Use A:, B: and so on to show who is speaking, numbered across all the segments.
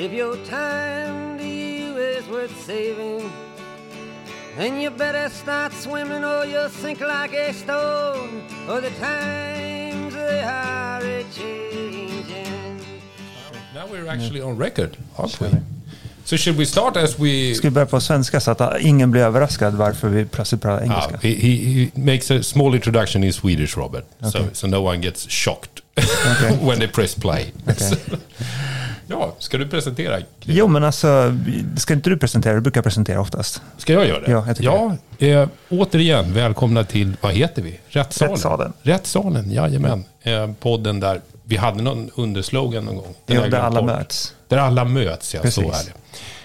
A: If your time to you is worth saving, then you better start swimming or you'll sink like a stone, or the times they are a-changing.
B: Now we're actually on record, aren't we? So should we start as we...
C: Ska vi börja på svenska så att ingen blir överraskad varför vi plötsligt pratar engelska?
B: He makes a small introduction in Swedish, Robert. Okay. So no one gets shocked when they press play.
C: Okay.
B: Ja, ska du presentera?
C: Jo, men alltså, ska inte du presentera? Du brukar presentera oftast.
B: Ska jag göra det?
C: Ja, jag tycker det.
B: Återigen, välkomna till, vad heter vi? Rättssalen.
C: Rättssalen,
B: jajamän. Podden där vi hade någon underslogan någon gång.
C: Där alla möts.
B: Där alla möts, ja. Precis. Så är det.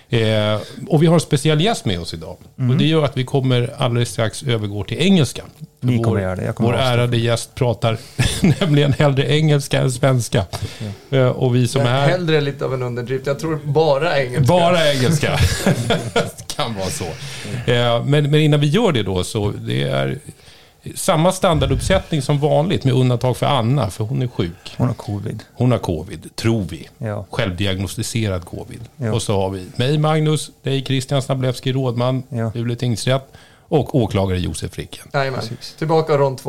B: Och vi har en speciell gäst med oss idag. Och det gör att vi kommer alldeles strax övergå till engelska.
C: Ni kommer göra det.
B: Vår ärade gäst pratar nämligen hellre engelska än svenska. Och vi som är...
D: Hellre lite av en underdrift. Jag tror bara engelska.
B: Bara engelska. Kan vara så. Men innan vi gör det då, så det är samma standarduppsättning som vanligt med undantag för Anna, för hon är sjuk. Hon har covid, tror vi.
C: Ja.
B: Självdiagnostiserad covid.
C: Ja.
B: Och så har vi mig, Magnus, dig, Christian Snablewski, rådman, Luleå tingsrätt, och åklagare Josef Ricken.
D: Jajamän. Tillbaka rond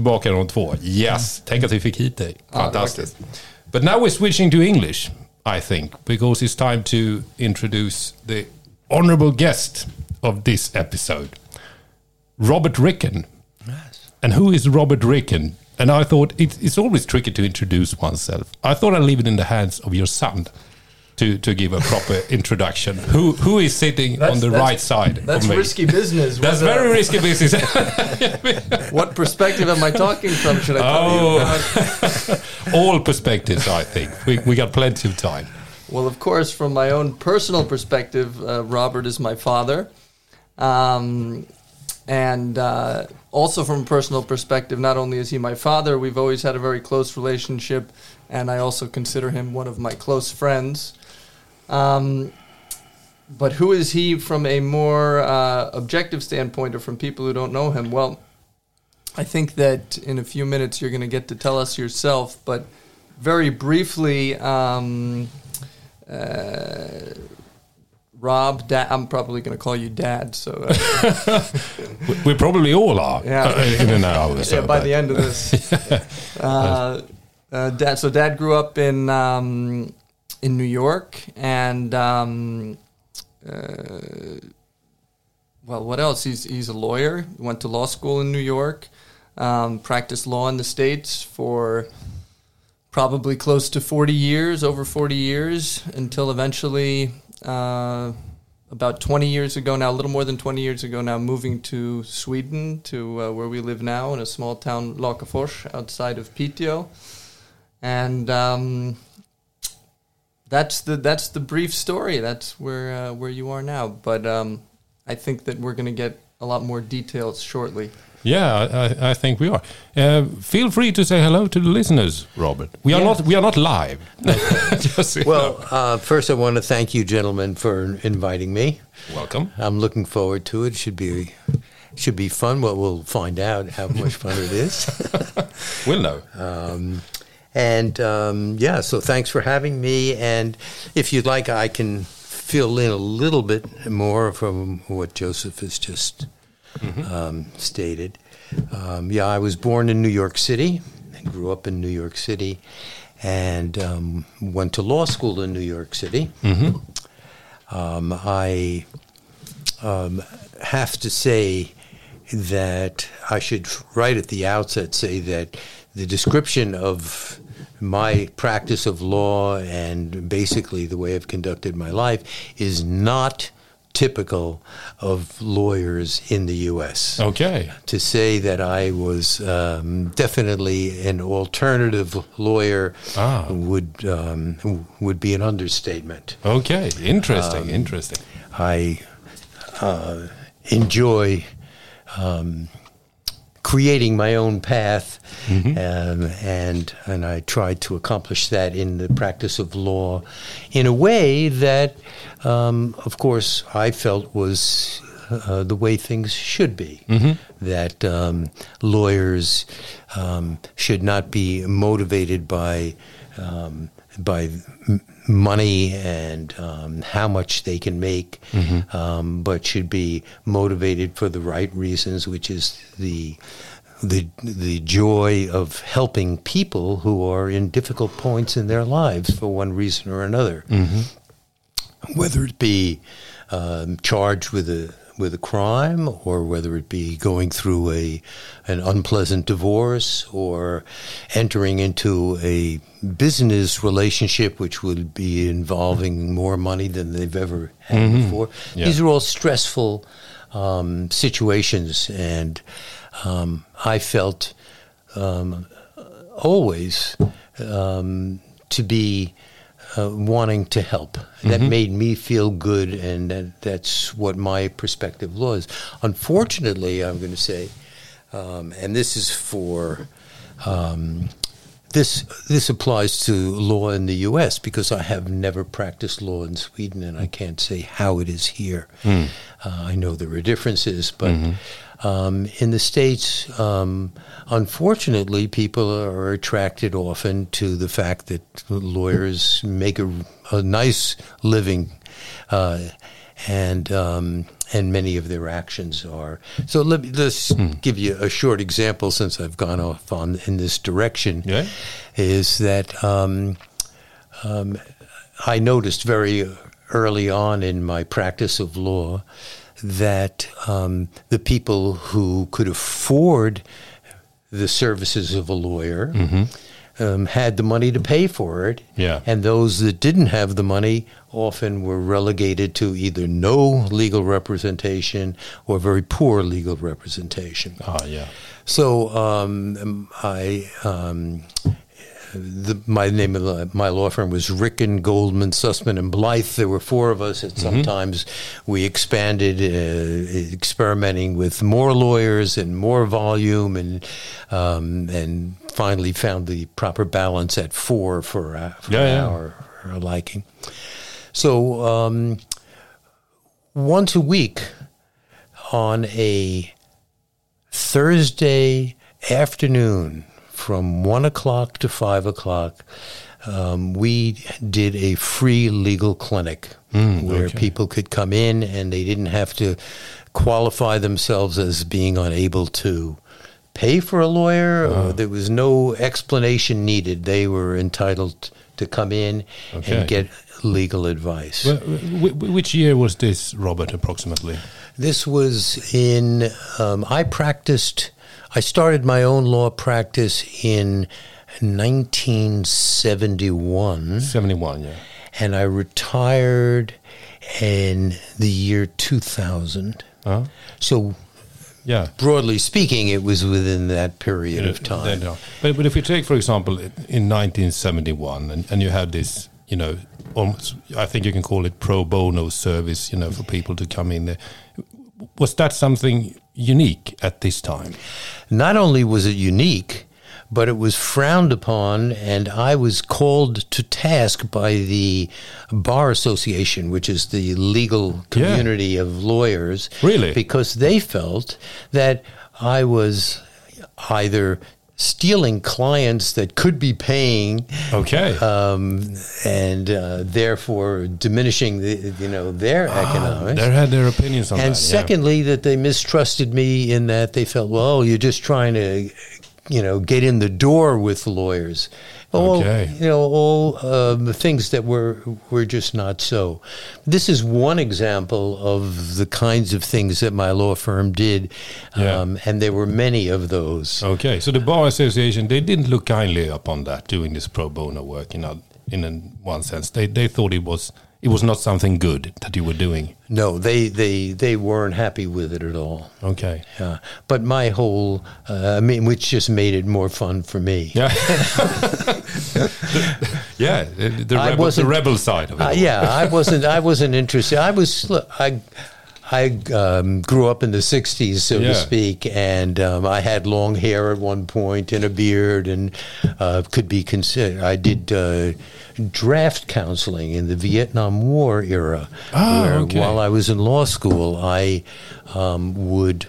D: 2.
B: Yes. Tänk att vi fick hit dig. Fantastiskt. But now we're switching to English, I think, because it's time to introduce the honorable guest of this episode, Robert Ricken. And who is Robert Ricken? And I thought it's always tricky to introduce oneself. I thought I'd leave it in the hands of your son to give a proper introduction. Who is sitting on the right side?
D: That's
B: of me?
D: Risky business.
B: That's very risky business.
D: What perspective am I talking from? Should I tell
B: you? All perspectives, I think. We got plenty of time.
D: Well, of course, from my own personal perspective, Robert is my father. Also from a personal perspective, not only is he my father, we've always had a very close relationship, and I also consider him one of my close friends. But who is he from a more objective standpoint, or from people who don't know him? Well, I think that in a few minutes you're going to get to tell us yourself, but very briefly... Rob, Dad, I'm probably going to call you Dad. So
B: we probably all are. In an hour. So
D: by the end of this, Dad. So Dad grew up in New York, and well, what else? He's a lawyer. Went to law school in New York. Practiced law in the States for probably close to 40 years, over 40 years, until eventually. About 20 years ago now, a little more than 20 years ago now, moving to Sweden, to where we live now, in a small town, Lakafors, outside of Piteå. And that's the brief story. That's where you are now. But I think that we're going to get a lot more details shortly.
B: Yeah, I think we are. Feel free to say hello to the listeners, Robert. We are not live.
E: Well, first I want to thank you, gentlemen, for inviting me.
B: Welcome.
E: I'm looking forward to it. Should be fun. Well, we'll find out how much fun it is.
B: We'll know.
E: So thanks for having me. And if you'd like, I can fill in a little bit more from what Joseph has just stated. I was born in New York City. I grew up in New York City, and went to law school in New York City. I have to say that I should right at the outset say that the description of my practice of law and basically the way I've conducted my life is not typical of lawyers in the U.S.
B: Okay.
E: To say that I was definitely an alternative lawyer would be an understatement.
B: Okay, interesting.
E: I enjoy creating my own path, and I tried to accomplish that in the practice of law in a way that, of course, I felt was the way things should be. That lawyers should not be motivated by by money and how much they can make, but should be motivated for the right reasons, which is the joy of helping people who are in difficult points in their lives for one reason or another, whether it be charged with a crime, or whether it be going through an unpleasant divorce, or entering into a business relationship which would be involving more money than they've ever had before.
B: Yeah.
E: These are all stressful situations, and I felt always to be wanting to help. That made me feel good, and that's what my perspective was. Unfortunately, I'm going to say, and this is for this applies to law in the U.S. because I have never practiced law in Sweden, and I can't say how it is here. I know there are differences, but in the States, unfortunately, people are attracted often to the fact that lawyers make a nice living, and many of their actions are. So let's give you a short example, since I've gone off in this direction.
B: Yeah.
E: Is that I noticed very early on in my practice of law that the people who could afford the services of a lawyer had the money to pay for it, and those that didn't have the money often were relegated to either no legal representation or very poor legal representation. So my name of my law firm was Ricken, Goldman, Sussman, and Blythe. There were four of us, and sometimes we expanded, experimenting with more lawyers and more volume, and finally found the proper balance at four for our liking. So once a week on a Thursday afternoon, from 1 o'clock to 5 o'clock, we did a free legal clinic where people could come in and they didn't have to qualify themselves as being unable to pay for a lawyer. There was no explanation needed. They were entitled to come in and get legal advice.
B: Which year was this, Robert, approximately?
E: This was in, I started my own law practice in 1971.
B: 71, yeah.
E: And I retired in the year 2000. So, broadly speaking, it was within that period of time.
B: But if you take, for example, in 1971, and you had this, almost, I think you can call it pro bono service, for people to come in there. Was that something unique at this time?
E: Not only was it unique, but it was frowned upon, and I was called to task by the Bar Association, which is the legal community of lawyers.
B: Really?
E: Because they felt that I was either stealing clients that could be paying, and therefore diminishing their economics.
B: They had their opinions on that.
E: And secondly, that they mistrusted me in that they felt, well, you're just trying to, get in the door with lawyers. All the things that were just not so. This is one example of the kinds of things that my law firm did, and there were many of those.
B: Okay, so the Bar Association, they didn't look kindly upon that, doing this pro bono work, in one sense. They thought it was not something good that you were doing.
E: No, they weren't happy with it at all.
B: Okay.
E: But my whole, which just made it more fun for me.
B: Yeah. The rebel side of it.
E: I wasn't interested. I grew up in the 60s, so to speak, and I had long hair at one point and a beard, and could be considered. I did draft counseling in the Vietnam War era, where while I was in law school, I would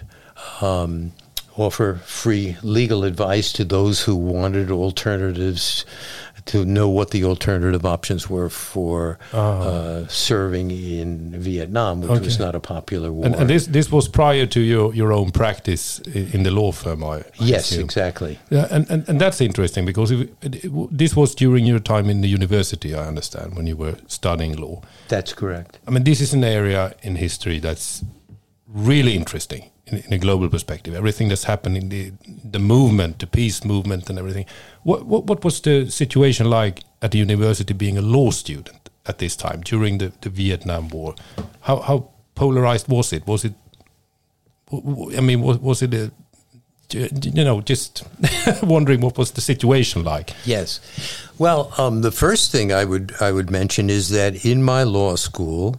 E: offer free legal advice to those who wanted alternatives to know what the alternative options were for serving in Vietnam, which was not a popular war.
B: And this was prior to your own practice in the law firm, I
E: yes,
B: assume.
E: exactly.
B: Yeah, and that's interesting because this was during your time in the university, I understand, when you were studying law.
E: That's correct.
B: I mean, this is an area in history that's really interesting in a global perspective. Everything that's happened in the movement, the peace movement and everything. What was the situation like at the university being a law student at this time during the Vietnam War? How polarized was it? Was it, I mean, was it just wondering what was the situation like?
E: Yes. Well, the first thing I would mention is that in my law school,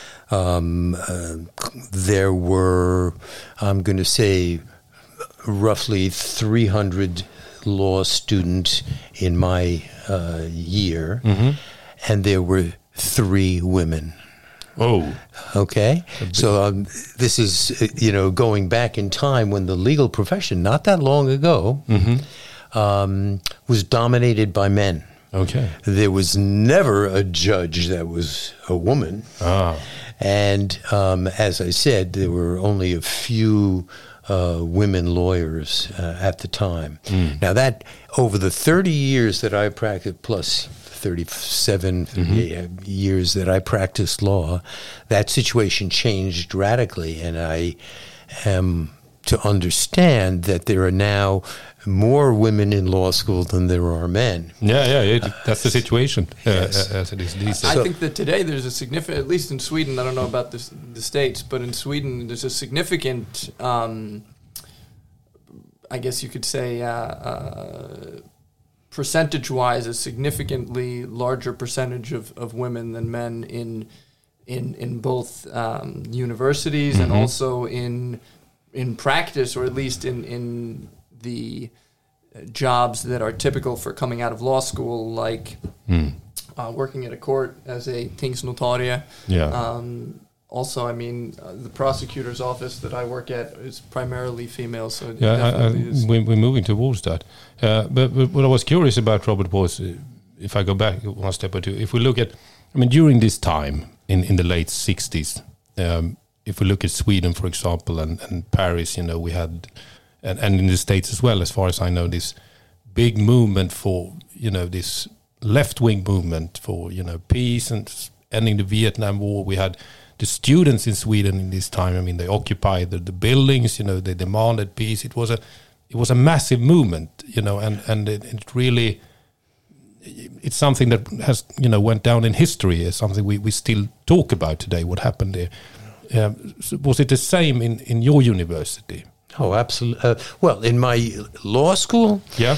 E: there were, I'm going to say, roughly 300 law students in my year, and there were 3 women.
B: Oh.
E: Okay. So this is, going back in time when the legal profession, not that long ago, was dominated by men.
B: Okay.
E: There was never a judge that was a woman. And as I said, there were only a few women lawyers at the time. Now that, over the 30 years that I practiced, plus 37 years that I practiced law, that situation changed radically. And I am to understand that there are now more women in law school than there are men.
B: That's the situation
E: yes.
B: as it is these days.
D: I think that today there's a significant, at least in Sweden, I don't know about the States, but in Sweden there's a significant, I guess you could say, percentage-wise, a significantly larger percentage of women than men in both universities and also in practice, or at least in the jobs that are typical for coming out of law school, like working at a court as a tingsnotarie. Also, I mean, the prosecutor's office that I work at is primarily female, so
B: we're moving towards that. But what I was curious about, Robert, was, if I go back one step or two, if we look at, I mean, during this time in the late 60s, if we look at Sweden, for example, and Paris, we had, and in the States as well, as far as I know, this big movement for, this left-wing movement for, peace and ending the Vietnam War. We had the students in Sweden in this time. I mean, they occupied the buildings, they demanded peace. It was a massive movement, and it really, it's something that has, went down in history as something we still talk about today, what happened there. So was it the same in your university?
E: Oh, absolutely. Well, in my law school?
B: Yeah.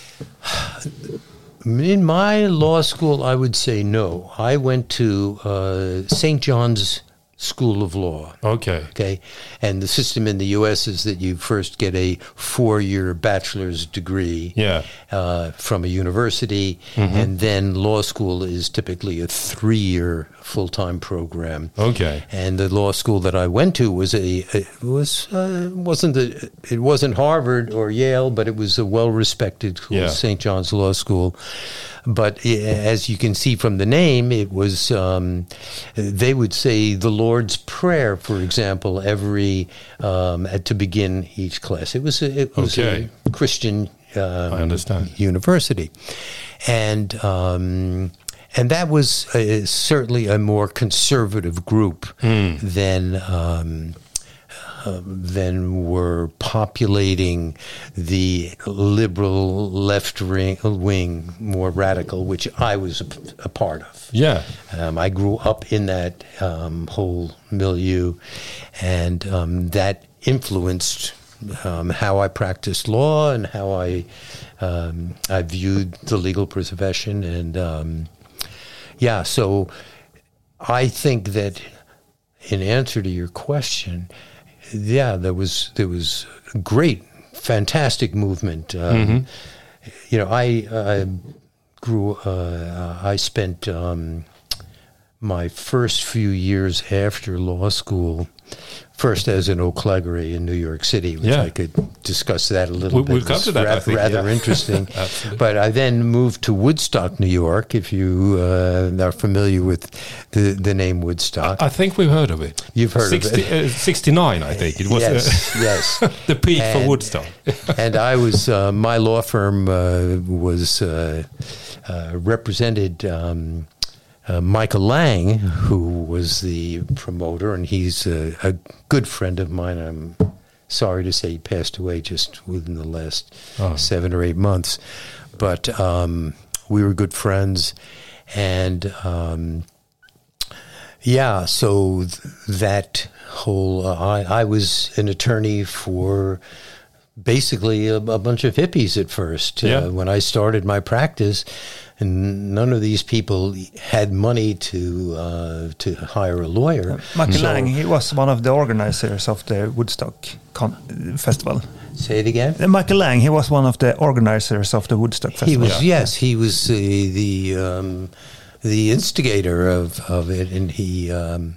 E: In my law school, I would say no. I went to St. John's School of Law. Okay. And the system in the U.S. is that you first get a 4-year bachelor's degree from a university, and then law school is typically a 3-year full-time program.
B: Okay.
E: And the law school that I went to wasn't Harvard or Yale, but it was a well-respected school, St. John's Law School. But as you can see from the name, it was, they would say the Lord's Prayer, for example, to begin each class. It was a Christian
B: I understand.
E: university. And that was certainly a more conservative group than were populating the liberal left wing, more radical, which I was a part of.
B: Yeah.
E: I grew up in that whole milieu, and that influenced how I practiced law and how I viewed the legal profession. And so I think that in answer to your question, there was a great, fantastic movement. I spent my first few years after law school, first as an O'Clegery in New York City, which I could discuss that a little bit.
B: We'll come to that, I think,
E: rather interesting. But I then moved to Woodstock, New York, if you are familiar with the name Woodstock.
B: I think we've heard of it.
E: You've heard of it.
B: 69, I think. It was
E: yes.
B: the peak for Woodstock.
E: And I was, my law firm was represented Michael Lang, who was the promoter, and he's a good friend of mine. I'm sorry to say he passed away just within the last 7 or 8 months. But we were good friends. And, so that whole... I was an attorney for basically a bunch of hippies at first. When I started my practice... And none of these people had money to hire a lawyer.
C: Michael Lang, he was one of the organizers of the Woodstock Festival.
E: Say it again?
C: Michael Lang, he was one of the organizers of the Woodstock Festival.
E: He was, he was the instigator of it, and he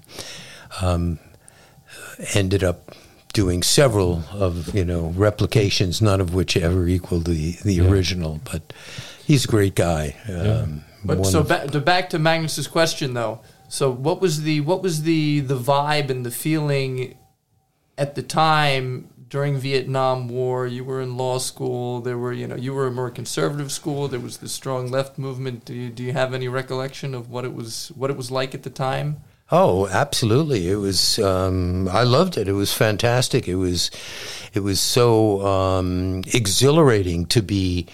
E: ended up doing several of replications, none of which ever equaled the original, but. He's a great guy.
D: But so back to Magnus's question though. So what was the vibe and the feeling at the time during Vietnam War? You were in law school. There were you were a more conservative school. There was the strong left movement. Do you have any recollection of what it was like at the time?
E: Oh, absolutely. It was. I loved it. It was fantastic. It was so exhilarating to be.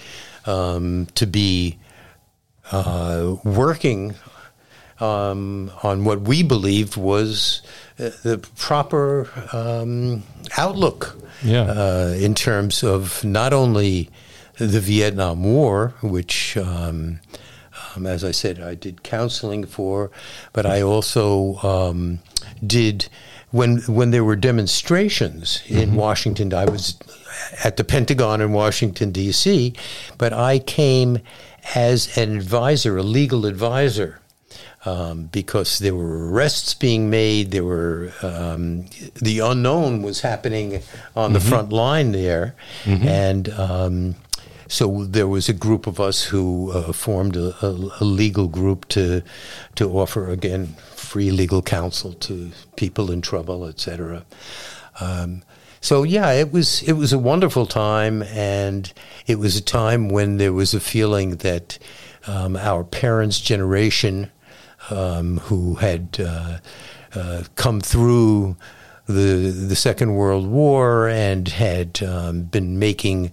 E: Working on what we believed was the proper outlook in terms of not only the Vietnam War, which, as I said, I did counseling for, but I also did... When there were demonstrations in Washington, I was at the Pentagon in Washington, D.C., but I came as an advisor, a legal advisor, because there were arrests being made. There were the unknown was happening on the front line there, and so there was a group of us who formed a legal group to offer, again, free legal counsel to people in trouble, etc. So it was a wonderful time, and it was a time when there was a feeling that our parents' generation, who had come through the Second World War and had been making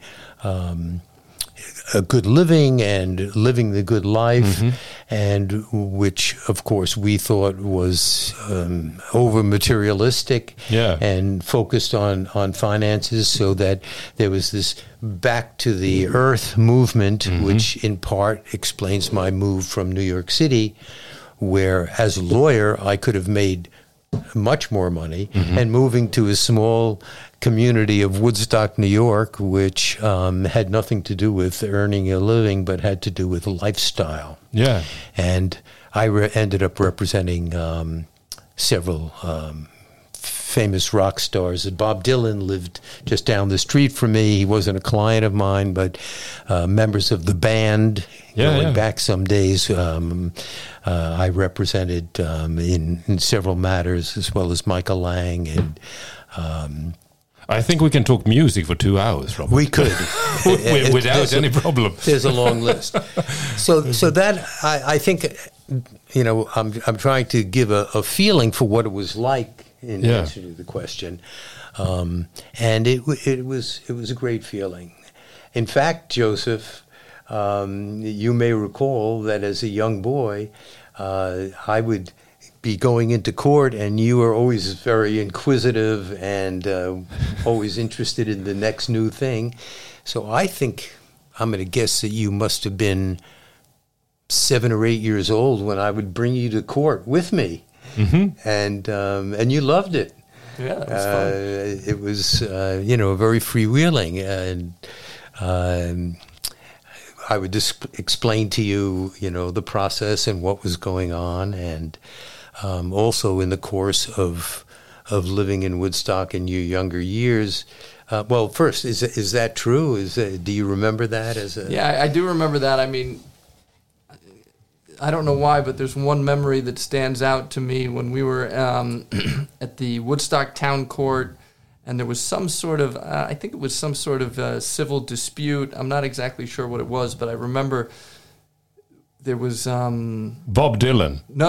E: a good living and living the good life, and which, of course, we thought was over materialistic and focused on finances, so that there was this back to the earth movement, which in part explains my move from New York City, where as a lawyer I could have made much more money, and moving to a small community of Woodstock, New York, which had nothing to do with earning a living, but had to do with lifestyle. Yeah. And I ended up representing several famous rock stars. Bob Dylan lived just down the street from me. He wasn't a client of mine, but members of the band, going back some days, I represented in several matters, as well as Michael Lang. And
B: I think we can talk music for 2 hours, Robert.
E: We could.
B: Without any problem.
E: There's a long list. So that, I think, I'm trying to give a feeling for what it was like in answer to the question. And it was a great feeling. In fact, Joseph, you may recall that as a young boy, I would be going into court, and you were always very inquisitive and always interested in the next new thing. So I think, I'm going to guess that you must have been 7 or 8 years old when I would bring you to court with me. And you loved it.
D: Yeah, it was fun.
E: It was, very freewheeling. And I would just explain to you, the process and what was going on, and also in the course of living in Woodstock in your younger years. Well, first, is that true? Do you remember that as a?
D: Yeah, I do remember that. I mean, I don't know why, but there's one memory that stands out to me when we were at the Woodstock Town Court, and there was some sort of, I think it was some sort of civil dispute. I'm not exactly sure what it was, but I remember there was...
B: Bob Dylan.
D: No.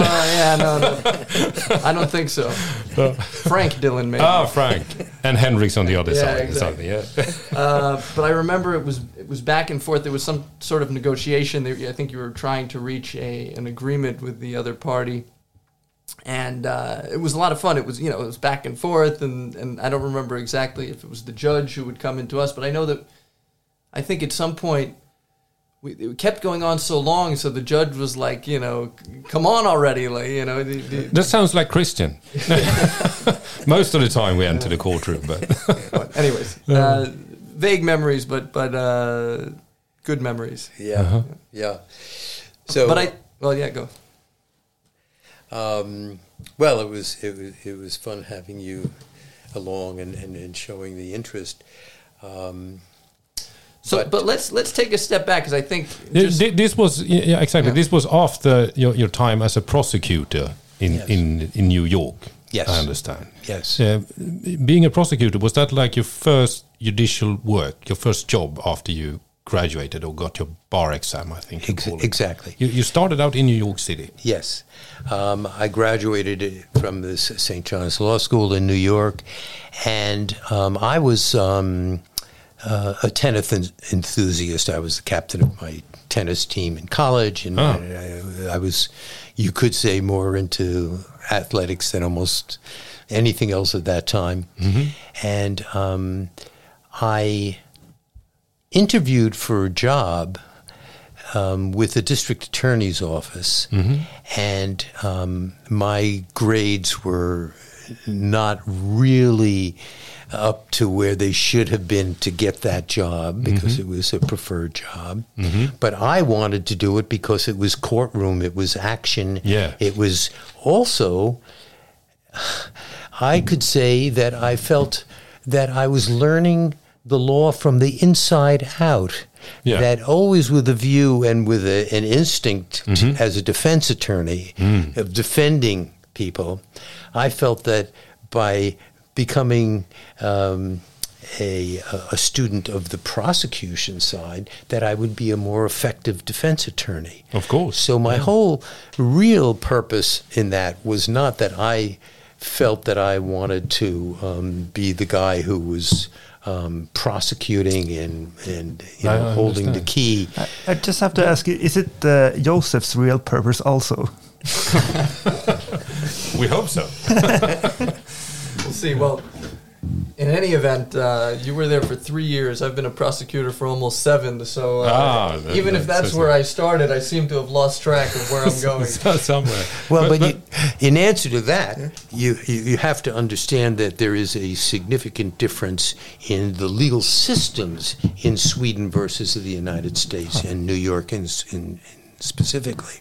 D: I don't think so. Frank Dylan, maybe.
B: Oh, Frank. And Hendrix on the other side.
D: Exactly.
B: Yeah.
D: But I remember it was back and forth. There was some sort of negotiation. I think you were trying to reach an agreement with the other party. And it was a lot of fun. It was back and forth, and I don't remember exactly if it was the judge who would come into us, but I know that I think at some point it kept going on so long, so the judge was like, come on already, like,
B: That sounds like Christian. Most of the time we enter the courtroom, but
D: anyways, vague memories, but good memories.
E: Yeah, yeah. So,
D: go.
E: Well, it was fun having you along and showing the interest.
D: But let's take a step back, because I think
B: this was exactly. Yeah. This was after your time as a prosecutor in New York.
E: Yes,
B: I understand.
E: Yes,
B: being a prosecutor, was that like your first judicial work, your first job after you graduated or got your bar exam? I think
E: exactly.
B: You started out in New York City.
E: Yes, I graduated from the St. John's Law School in New York, and I was a tennis enthusiast. I was the captain of my tennis team in college, and I was, you could say, more into athletics than almost anything else at that time. Mm-hmm. And I interviewed for a job with the district attorney's office, mm-hmm. and my grades were not really up to where they should have been to get that job, because mm-hmm. it was a preferred job. Mm-hmm. But I wanted to do it because it was courtroom, it was action.
B: Yeah.
E: It was also, I could say that I felt that I was learning the law from the inside out. Yeah. That always with a view and with an instinct mm-hmm. as a defense attorney of defending people. I felt that by becoming a student of the prosecution side, that I would be a more effective defense attorney.
B: Of course.
E: So my whole real purpose in that was not that I felt that I wanted to be the guy who was prosecuting and holding the key.
C: I just have to ask you, is it Joseph's real purpose also?
B: We hope so.
D: We'll see. Well, in any event, you were there for 3 years. I've been a prosecutor for almost 7. So even if that's where I started, I seem to have lost track of where I'm going.
B: Somewhere.
E: Well, but in answer to that, you have to understand that there is a significant difference in the legal systems in Sweden versus the United States and New York in specifically.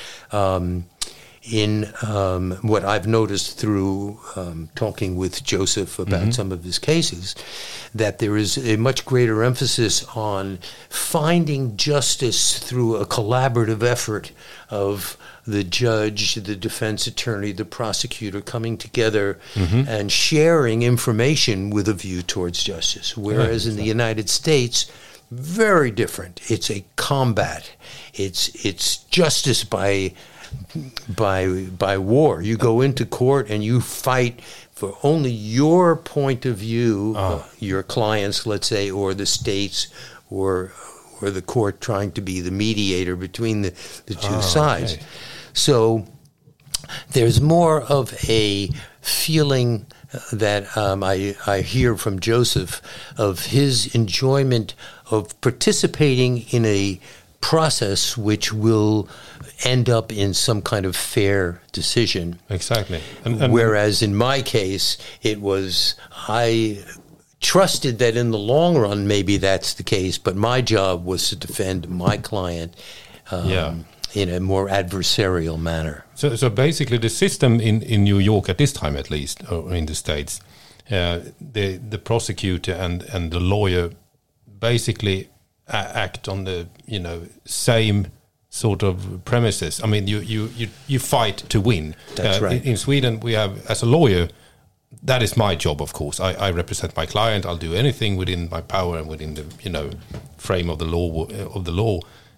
E: In what I've noticed through talking with Joseph about mm-hmm. some of his cases, that there is a much greater emphasis on finding justice through a collaborative effort of the judge, the defense attorney, the prosecutor coming together mm-hmm. and sharing information with a view towards justice. Whereas in the United States, very different. It's a combat. It's justice by war. You go into court and you fight for only your point of view, your clients, let's say, or the states, or the court trying to be the mediator between the two sides. Okay. So there's more of a feeling that I hear from Joseph of his enjoyment of participating in a process which will end up in some kind of fair decision.
B: Exactly.
E: And whereas in my case, it was I trusted that in the long run, maybe that's the case, but my job was to defend my client in a more adversarial manner.
B: So basically, the system in New York at this time, at least, or in the States, the prosecutor and the lawyer basically act on the same sort of premises. I mean, you fight to win.
E: That's right.
B: In Sweden, we have, as a lawyer, that is my job, of course. I represent my client. I'll do anything within my power and within the frame of the law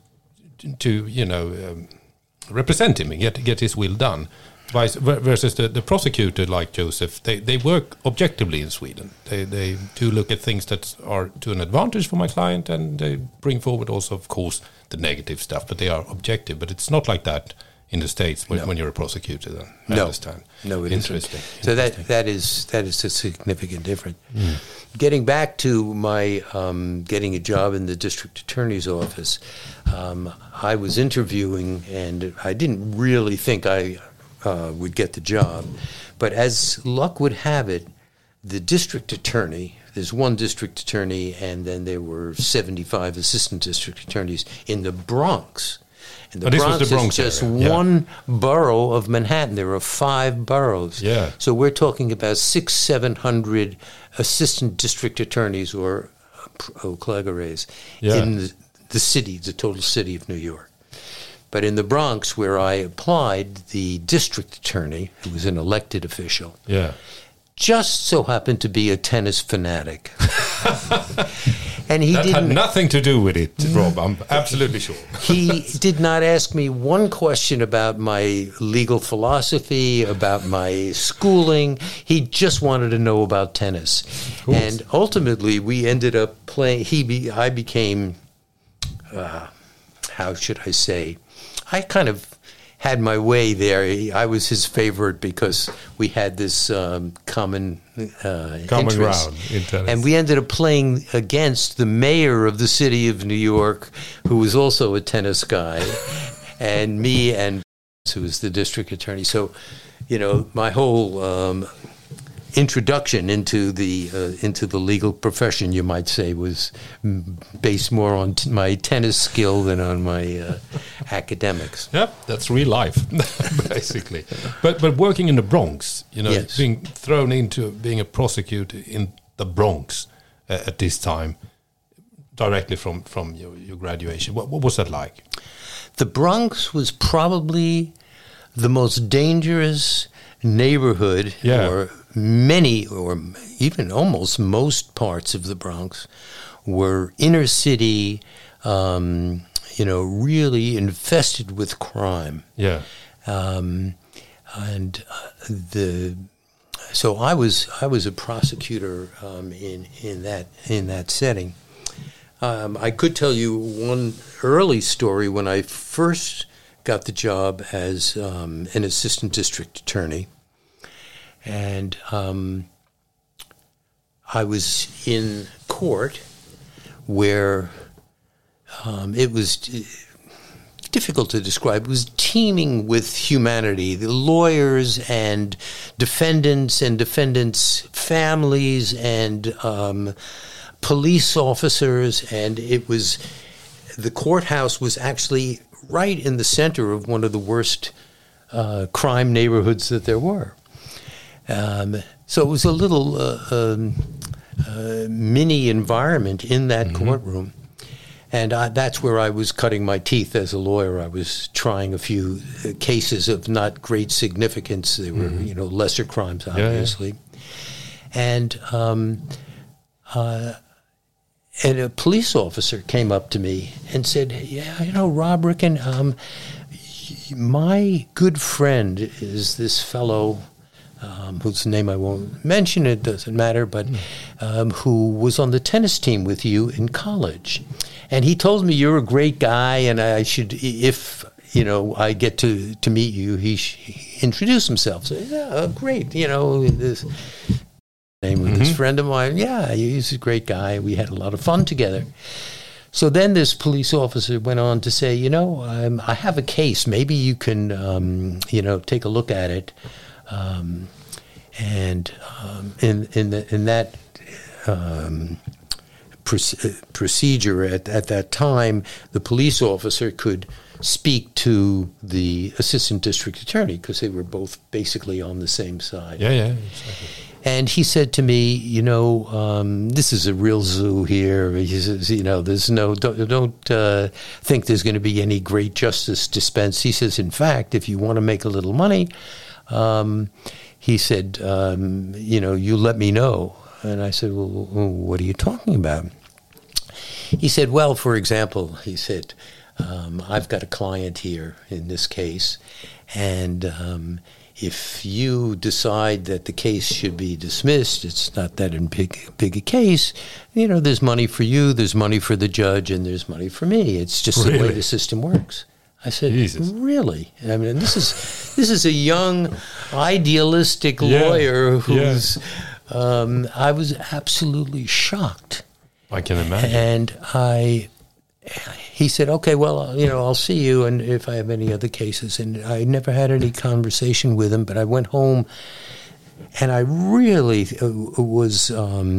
B: to represent him and get his will done. Versus the prosecutor, like Joseph, they work objectively in Sweden. They do look at things that are to an advantage for my client, and they bring forward also, of course, the negative stuff. But they are objective. But it's not like that in the States when you're a prosecutor. Then I understand.
E: No, it
B: interesting.
E: So that is a significant difference. Getting back to my getting a job in the district attorney's office, I was interviewing, and I didn't really think I would get the job. But as luck would have it, the district attorney, there's one district attorney, and then there were 75 assistant district attorneys in the Bronx. And the Bronx is just one borough of Manhattan. There are 5 boroughs.
B: Yeah.
E: So we're talking about 600-700 assistant district attorneys, or procurator's, in the city, the total city of New York. But in the Bronx, where I applied, the district attorney, who was an elected official, just so happened to be a tennis fanatic. And he
B: had nothing to do with it, Rob. I'm absolutely sure.
E: He did not ask me one question about my legal philosophy, about my schooling. He just wanted to know about tennis. And ultimately, we ended up playing. I became, how should I say? I kind of had my way there. I was his favorite because we had this common interest.
B: Ground in tennis.
E: And we ended up playing against the mayor of the city of New York, who was also a tennis guy, and me, and who was the district attorney. So, my whole introduction into the legal profession, you might say, was based more on my tennis skill than on my academics.
B: Yep, that's real life, basically. But working in the Bronx, being thrown into being a prosecutor in the Bronx at this time, directly from your graduation, what was that like?
E: The Bronx was probably the most dangerous neighborhood, or many, or even almost most parts of the Bronx were inner city, really infested with crime.
B: Yeah.
E: So I was a prosecutor in that setting. I could tell you one early story when I first got the job as an assistant district attorney. And I was in court where it was difficult to describe. It was teeming with humanity. The lawyers and defendants families and police officers. And the courthouse was actually right in the center of one of the worst crime neighborhoods that there were. So it was a little mini environment in that courtroom. And that's where I was cutting my teeth as a lawyer. I was trying a few cases of not great significance. They were, lesser crimes, obviously. And a police officer came up to me and said, Rob Ricken, my good friend is this fellow whose name I won't mention, it doesn't matter, but who was on the tennis team with you in college. And he told me you're a great guy, and I should, if I get to meet you, he introduce himself. So, great, this name with this friend of mine. Yeah, he's a great guy. We had a lot of fun together. So then this police officer went on to say, I have a case. Maybe you can, take a look at it. And in that procedure at that time, the police officer could speak to the assistant district attorney because they were both basically on the same side.
B: Yeah, exactly.
E: And he said to me, this is a real zoo here. He says, there's don't think there's going to be any great justice dispensed. He says, in fact, if you want to make a little money, he said, you let me know. And I said, well, what are you talking about? He said, well, for example, he said, I've got a client here in this case, and if you decide that the case should be dismissed, it's not that big a case, there's money for you, there's money for the judge, and there's money for me. It's just the way the system works. I said, Jesus. Really? I mean, this is a young, idealistic lawyer who's... I was absolutely shocked.
B: I can imagine.
E: And he said, okay, well, I'll see you, and if I have any other cases. And I never had any conversation with him, but I went home, and I really was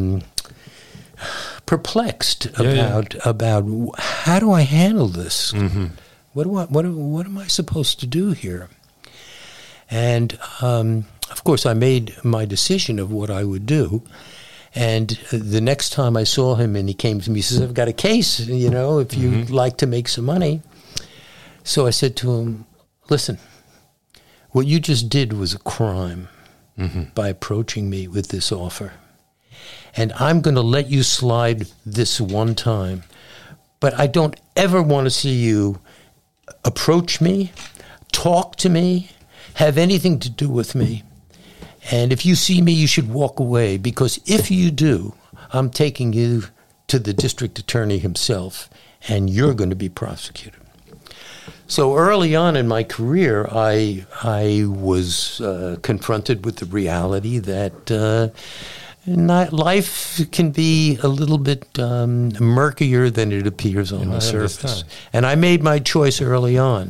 E: perplexed about how do I handle this? Mm-hmm. What am I supposed to do here? And of course, I made my decision of what I would do. And the next time I saw him and he came to me, he says, I've got a case, if you'd like to make some money. So I said to him, listen, what you just did was a crime by approaching me with this offer. And I'm going to let you slide this one time. But I don't ever want to see you approach me, talk to me, have anything to do with me. And if you see me, you should walk away, because if you do, I'm taking you to the district attorney himself, and you're going to be prosecuted. So early on in my career, I was confronted with the reality that life can be a little bit murkier than it appears on the surface. And I made my choice early on.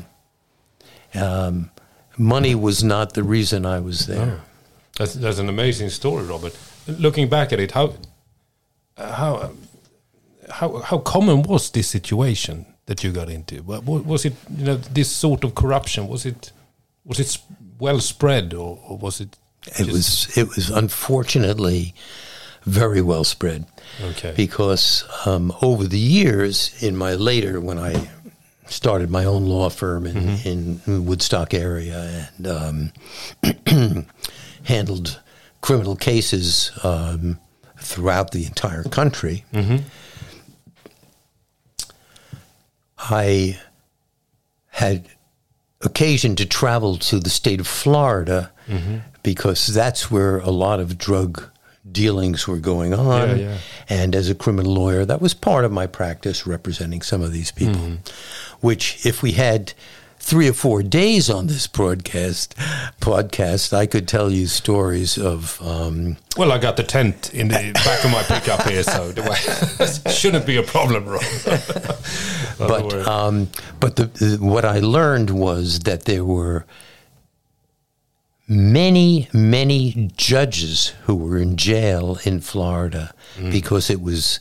E: Money was not the reason I was there.
B: Oh. That's an amazing story, Robert. Looking back at it, how common was this situation that you got into? Was it this sort of corruption? Was it well spread, or was it?
E: It was unfortunately very well spread.
B: Okay.
E: Because over the years, when I started my own law firm in Woodstock area and handled criminal cases throughout the entire country, I had occasion to travel to the state of Florida because that's where a lot of drug dealings were going on. Yeah. And as a criminal lawyer, that was part of my practice, representing some of these people, which if we had 3 or 4 days on this podcast, I could tell you stories of...
B: well, I got the tent in the back of my pickup here, so shouldn't be a problem, Rob.
E: But what I learned was that there were many, many judges who were in jail in Florida because it was...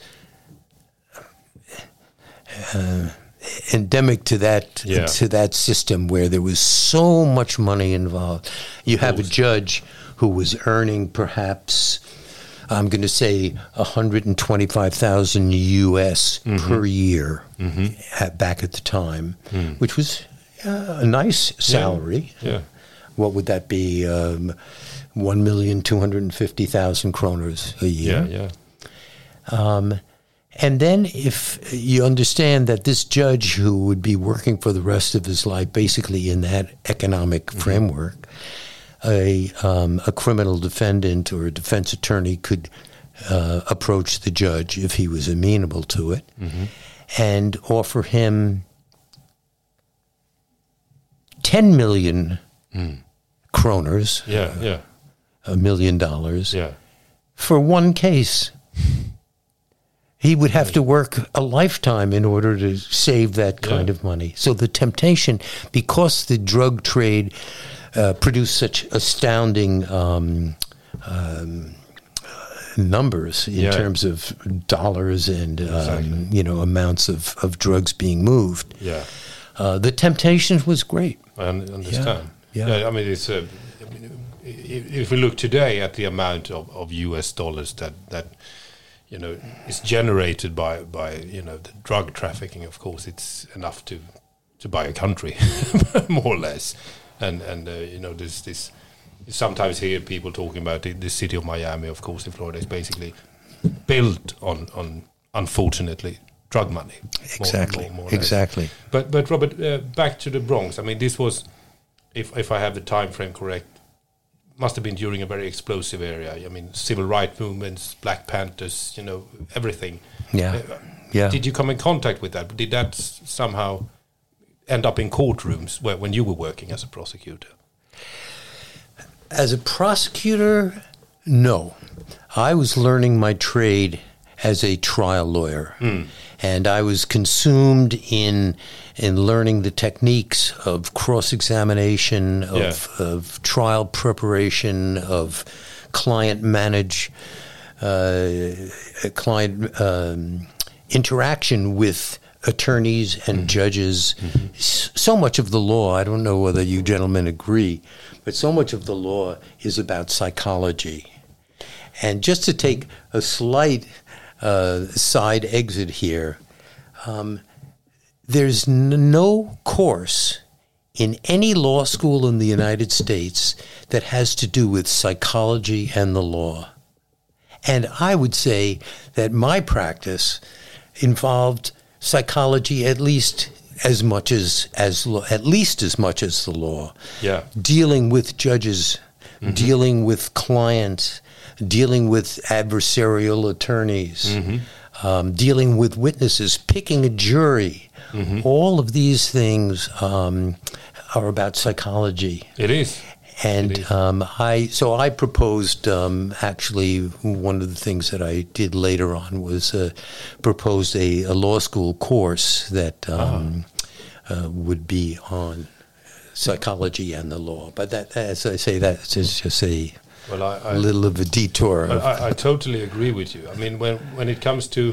E: endemic to that system where there was so much money involved. You have a judge who was earning perhaps, I'm going to say, $125,000 US per year back at the time, which was a nice salary.
B: Yeah.
E: What would that be? 1,250,000 kroners a year.
B: Yeah.
E: And then if you understand that this judge who would be working for the rest of his life basically in that economic framework, a criminal defendant or a defense attorney could approach the judge if he was amenable to it and offer him 10 million kroners, $1 million, for one case. He would have to work a lifetime in order to save that kind of money. So the temptation, because the drug trade produced such astounding numbers in terms of dollars and amounts of drugs being moved.
B: Yeah,
E: the temptation was great.
B: I understand.
E: Yeah.
B: I mean, it's if we look today at the amount of US dollars that is generated by the drug trafficking, of course, it's enough to buy a country, more or less. And there's this. You sometimes hear people talking about the city of Miami, of course, in Florida, is basically built on unfortunately, drug money.
E: Exactly.
B: More
E: exactly.
B: But Robert, back to the Bronx. I mean, this was, if I have the time frame correct, must have been during a very explosive area. I mean, civil rights movements, Black Panthers, everything.
E: Yeah. Yeah.
B: Did you come in contact with that? Did that somehow end up in courtrooms when you were working as a prosecutor?
E: As a prosecutor, no. I was learning my trade as a trial lawyer. And I was consumed in learning the techniques of cross-examination, of trial preparation, of client interaction with attorneys and judges. So much of the law, I don't know whether you gentlemen agree, but so much of the law is about psychology. And just to take a slight side exit here, there's no course in any law school in the United States that has to do with psychology and the law. And I would say that my practice involved psychology at least as much as the law.
B: Yeah.
E: Dealing with judges, dealing with clients, dealing with adversarial attorneys, dealing with witnesses, picking a jury. All of these things are about psychology.
B: It is.
E: And I proposed, actually, one of the things that I did later on was proposed a law school course that would be on psychology and the law. But that, as I say, that's just a little of a detour.
B: I totally agree with you. I mean, when it comes to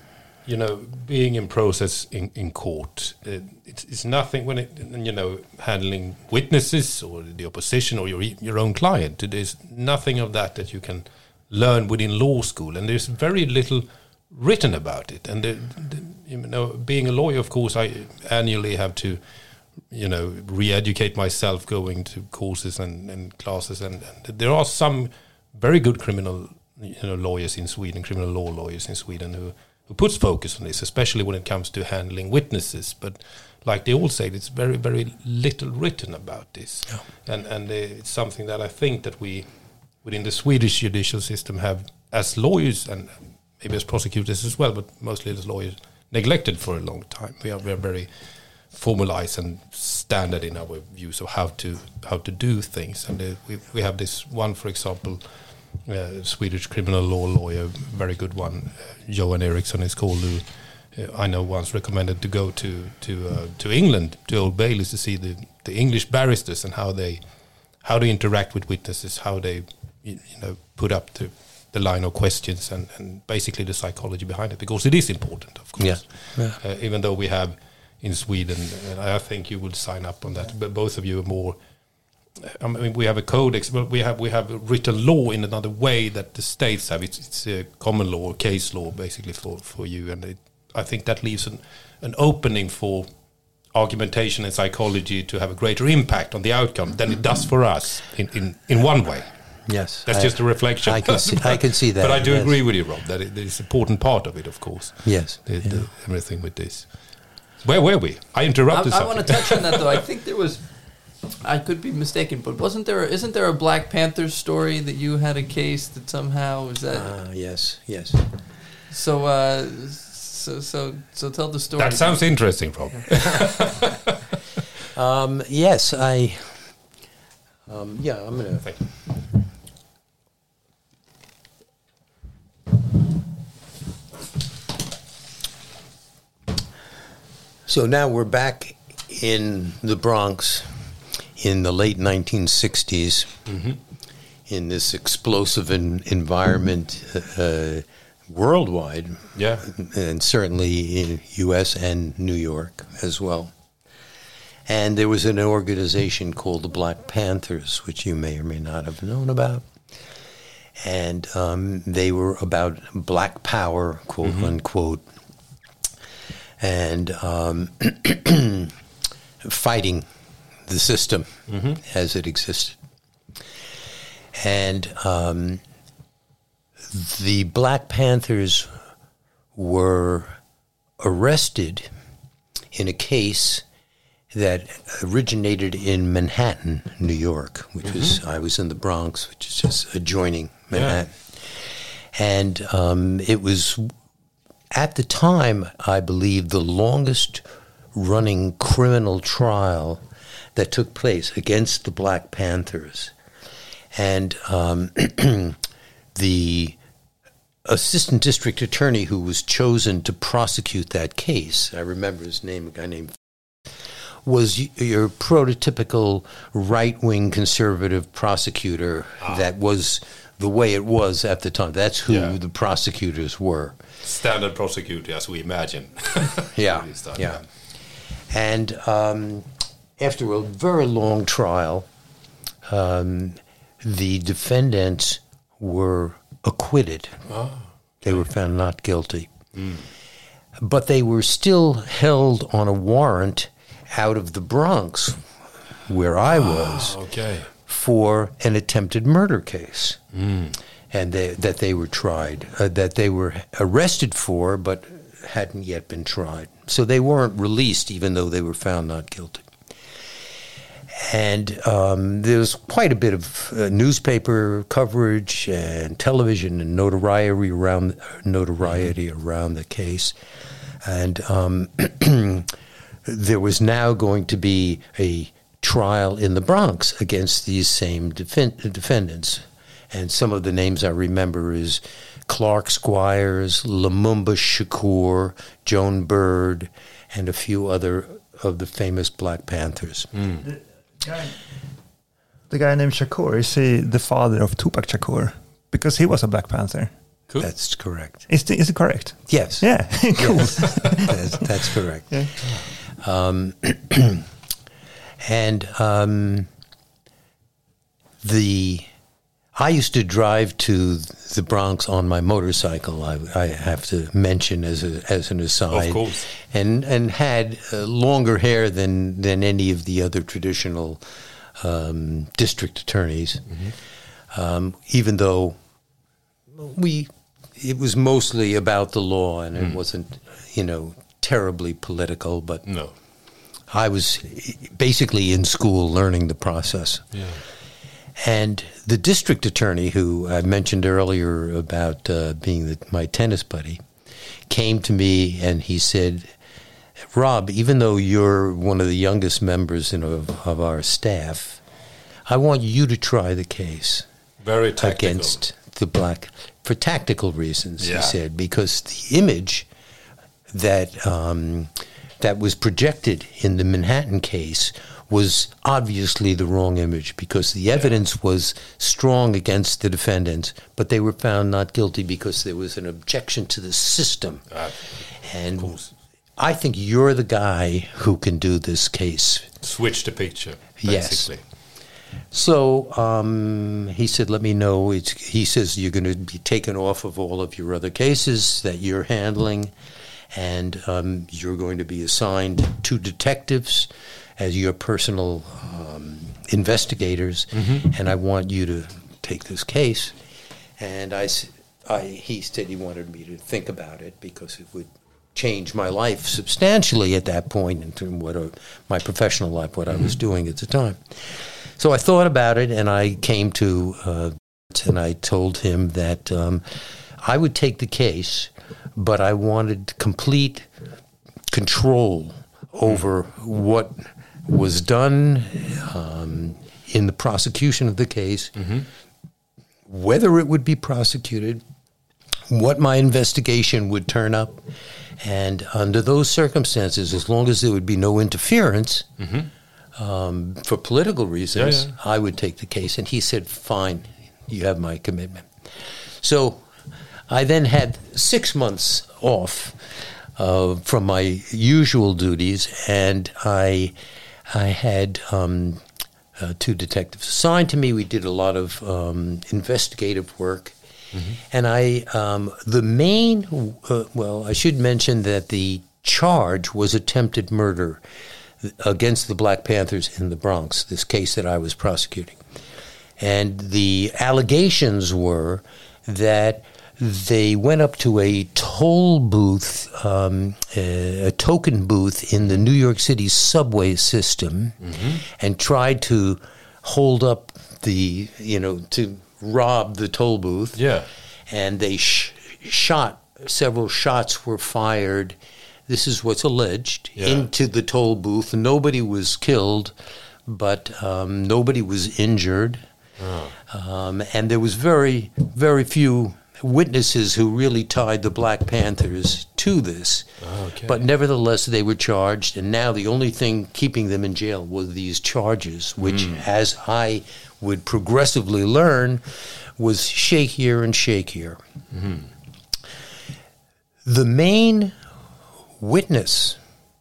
B: being in process in court, it's nothing when handling witnesses or the opposition or your own client. There's nothing of that you can learn within law school, and there's very little written about it. And being a lawyer, of course, I annually have to re-educate myself, going to courses and classes, and there are some very good criminal lawyers in Sweden, criminal law lawyers in Sweden who puts focus on this, especially when it comes to handling witnesses. But like they all say, it's very, very little written about this. Yeah. And it's something that I think that we, within the Swedish judicial system, have, as lawyers and maybe as prosecutors as well, but mostly as lawyers, neglected for a long time. We are very formalized and standard in our views of how to do things. And we have this one, for example, Swedish criminal law lawyer, very good one, Johan Eriksson is called, who I know once recommended to go to England, to Old Bailey, to see the English barristers and how they interact with witnesses, how they put up the line of questions and basically the psychology behind it, because it is important, of course. Yeah. Even though we have in Sweden, and I think you would sign up on that, but both of you are more. I mean, we have a codex, but we have written law in another way that the states have. It's a common law, case law, basically for you, and I think that leaves an opening for argumentation and psychology to have a greater impact on the outcome than it does for us in one way.
E: Yes,
B: that's just a reflection.
E: I can see that.
B: But I do agree with you, Rob, that it is an important part of it, of course.
E: Yes,
B: everything with this. Where were we? I interrupted.
D: I want to touch on that though. I think there was. I could be mistaken, but isn't there a Black Panthers story that you had a case that somehow is that?
E: Yes.
D: So tell the story.
B: That sounds interesting, Rob.
E: Yes, I'm gonna.
B: Thank you.
E: So now we're back in the Bronx in the late 1960s, in this explosive environment worldwide.
B: Yeah.
E: And certainly in U.S. and New York as well. And there was an organization called the Black Panthers, which you may or may not have known about. And they were about black power, quote unquote, and fighting the system as it existed. And the Black Panthers were arrested in a case that originated in Manhattan, New York, which was, I was in the Bronx, which is just adjoining Manhattan. Yeah. And it was, at the time, I believe, the longest running criminal trial that took place against the Black Panthers. And the assistant district attorney who was chosen to prosecute that case, I remember his name, a guy named, was your prototypical right-wing conservative prosecutor that was the way it was at the time. That's who the prosecutors were.
B: Standard prosecutor, as we imagine.
E: Yeah. And after a very long trial, the defendants were acquitted. They were found not guilty. But they were still held on a warrant out of the Bronx, where I was, for an attempted murder case. And that they were tried, that they were arrested for, but hadn't yet been tried. So they weren't released, even though they were found not guilty. And there was quite a bit of newspaper coverage and television and notoriety around the case. And there was now going to be a trial in the Bronx against these same defendants. And some of the names I remember is Clark Squires, Lumumba Shakur, Joan Bird, and a few other of the famous Black Panthers.
C: The guy named Shakur, is he the father of Tupac Shakur? Because he was a Black Panther.
E: Cool. That's correct.
C: Is it correct?
E: Yes.
C: Yeah, cool.
E: Yes. That's correct. Yeah. I used to drive to the Bronx on my motorcycle. I have to mention as an aside,
B: of course,
E: and had longer hair than any of the other traditional district attorneys. Even though it was mostly about the law and it wasn't, terribly political, but
B: no.
E: I was basically in school learning the process.
B: Yeah.
E: And the district attorney, who I mentioned earlier about being my tennis buddy, came to me and he said, Rob, even though you're one of the youngest members of our staff, I want you to try the case.
B: Very tactical.
E: Against the Black, for tactical reasons, he said, because the image that was projected in the Manhattan case was obviously the wrong image, because the evidence was strong against the defendants, but they were found not guilty because there was an objection to the system. And I think you're the guy who can do this case.
B: Switch the picture, basically.
E: Yes. So he said, let me know. He says you're going to be taken off of all of your other cases that you're handling, and you're going to be assigned 2 detectives as your personal investigators, and I want you to take this case. And he said he wanted me to think about it because it would change my life substantially at that point into my professional life, what I was doing at the time. So I thought about it, and I came to, and I told him that I would take the case, but I wanted complete control over what was done in the prosecution of the case, whether it would be prosecuted, what my investigation would turn up, and under those circumstances, as long as there would be no interference for political reasons, I would take the case. And he said, fine, You have my commitment. So I then had 6 months off from my usual duties, and I had 2 detectives assigned to me. We did a lot of investigative work. And I should mention that the charge was attempted murder against the Black Panthers in the Bronx, this case that I was prosecuting. And the allegations were that they went up to a toll booth, a token booth in the New York City subway system, and tried to hold up to rob the toll booth.
B: Yeah.
E: And they shot, several shots were fired. This is what's alleged, into the toll booth. Nobody was killed, but nobody was injured. And there was very, very few witnesses who really tied the Black Panthers to this.
B: Okay.
E: But nevertheless, they were charged, and now the only thing keeping them in jail were these charges, which, as I would progressively learn, was shakier and shakier. The main witness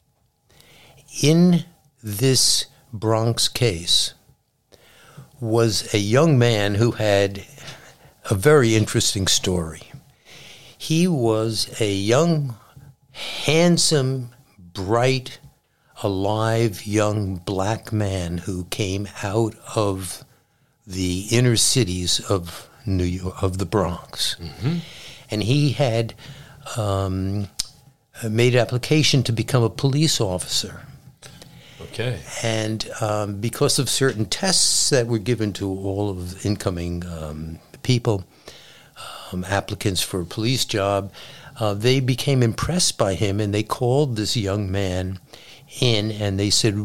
E: in this Bronx case was a young man who had a very interesting story. He was a young, handsome, bright, alive, young black man who came out of the inner cities of New York, of the Bronx. And he had made application to become a police officer.
B: Okay.
E: And because of certain tests that were given to all of incoming people, applicants for a police job, they became impressed by him, and they called this young man in, and they said,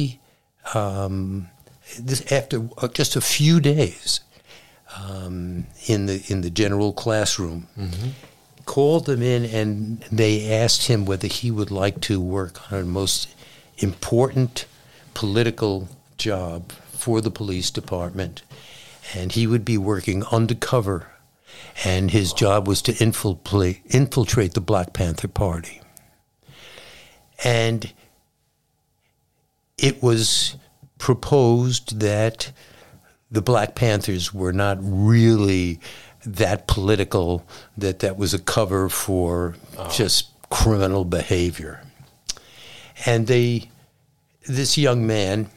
E: after just a few days in the general classroom, called them in, and they asked him whether he would like to work on the most important political job for the police department, and he would be working undercover, and his job was to infiltrate the Black Panther Party. And it was proposed that the Black Panthers were not really that political, that was a cover for just criminal behavior. And this young man,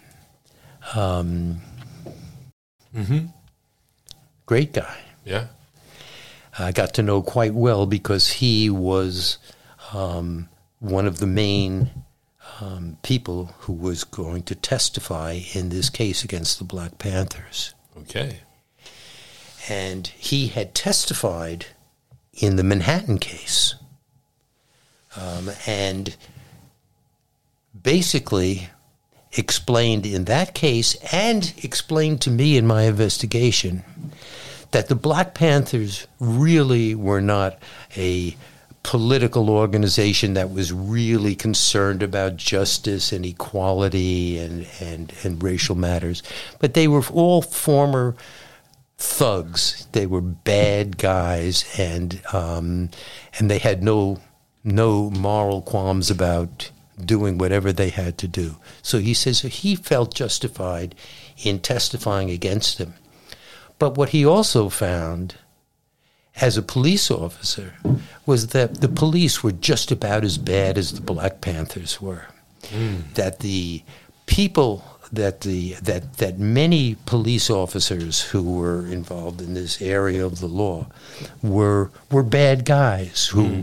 E: great guy.
B: Yeah.
E: I got to know quite well because he was one of the main people who was going to testify in this case against the Black Panthers.
B: Okay.
E: And he had testified in the Manhattan case. And basically explained in that case, and explained to me in my investigation, that the Black Panthers really were not a political organization that was really concerned about justice and equality and racial matters, but they were all former thugs. They were bad guys, and they had no moral qualms about doing whatever they had to do. So he says he felt justified in testifying against them. But what he also found as a police officer was that the police were just about as bad as the Black Panthers were. That the people, that many police officers who were involved in this area of the law were bad guys who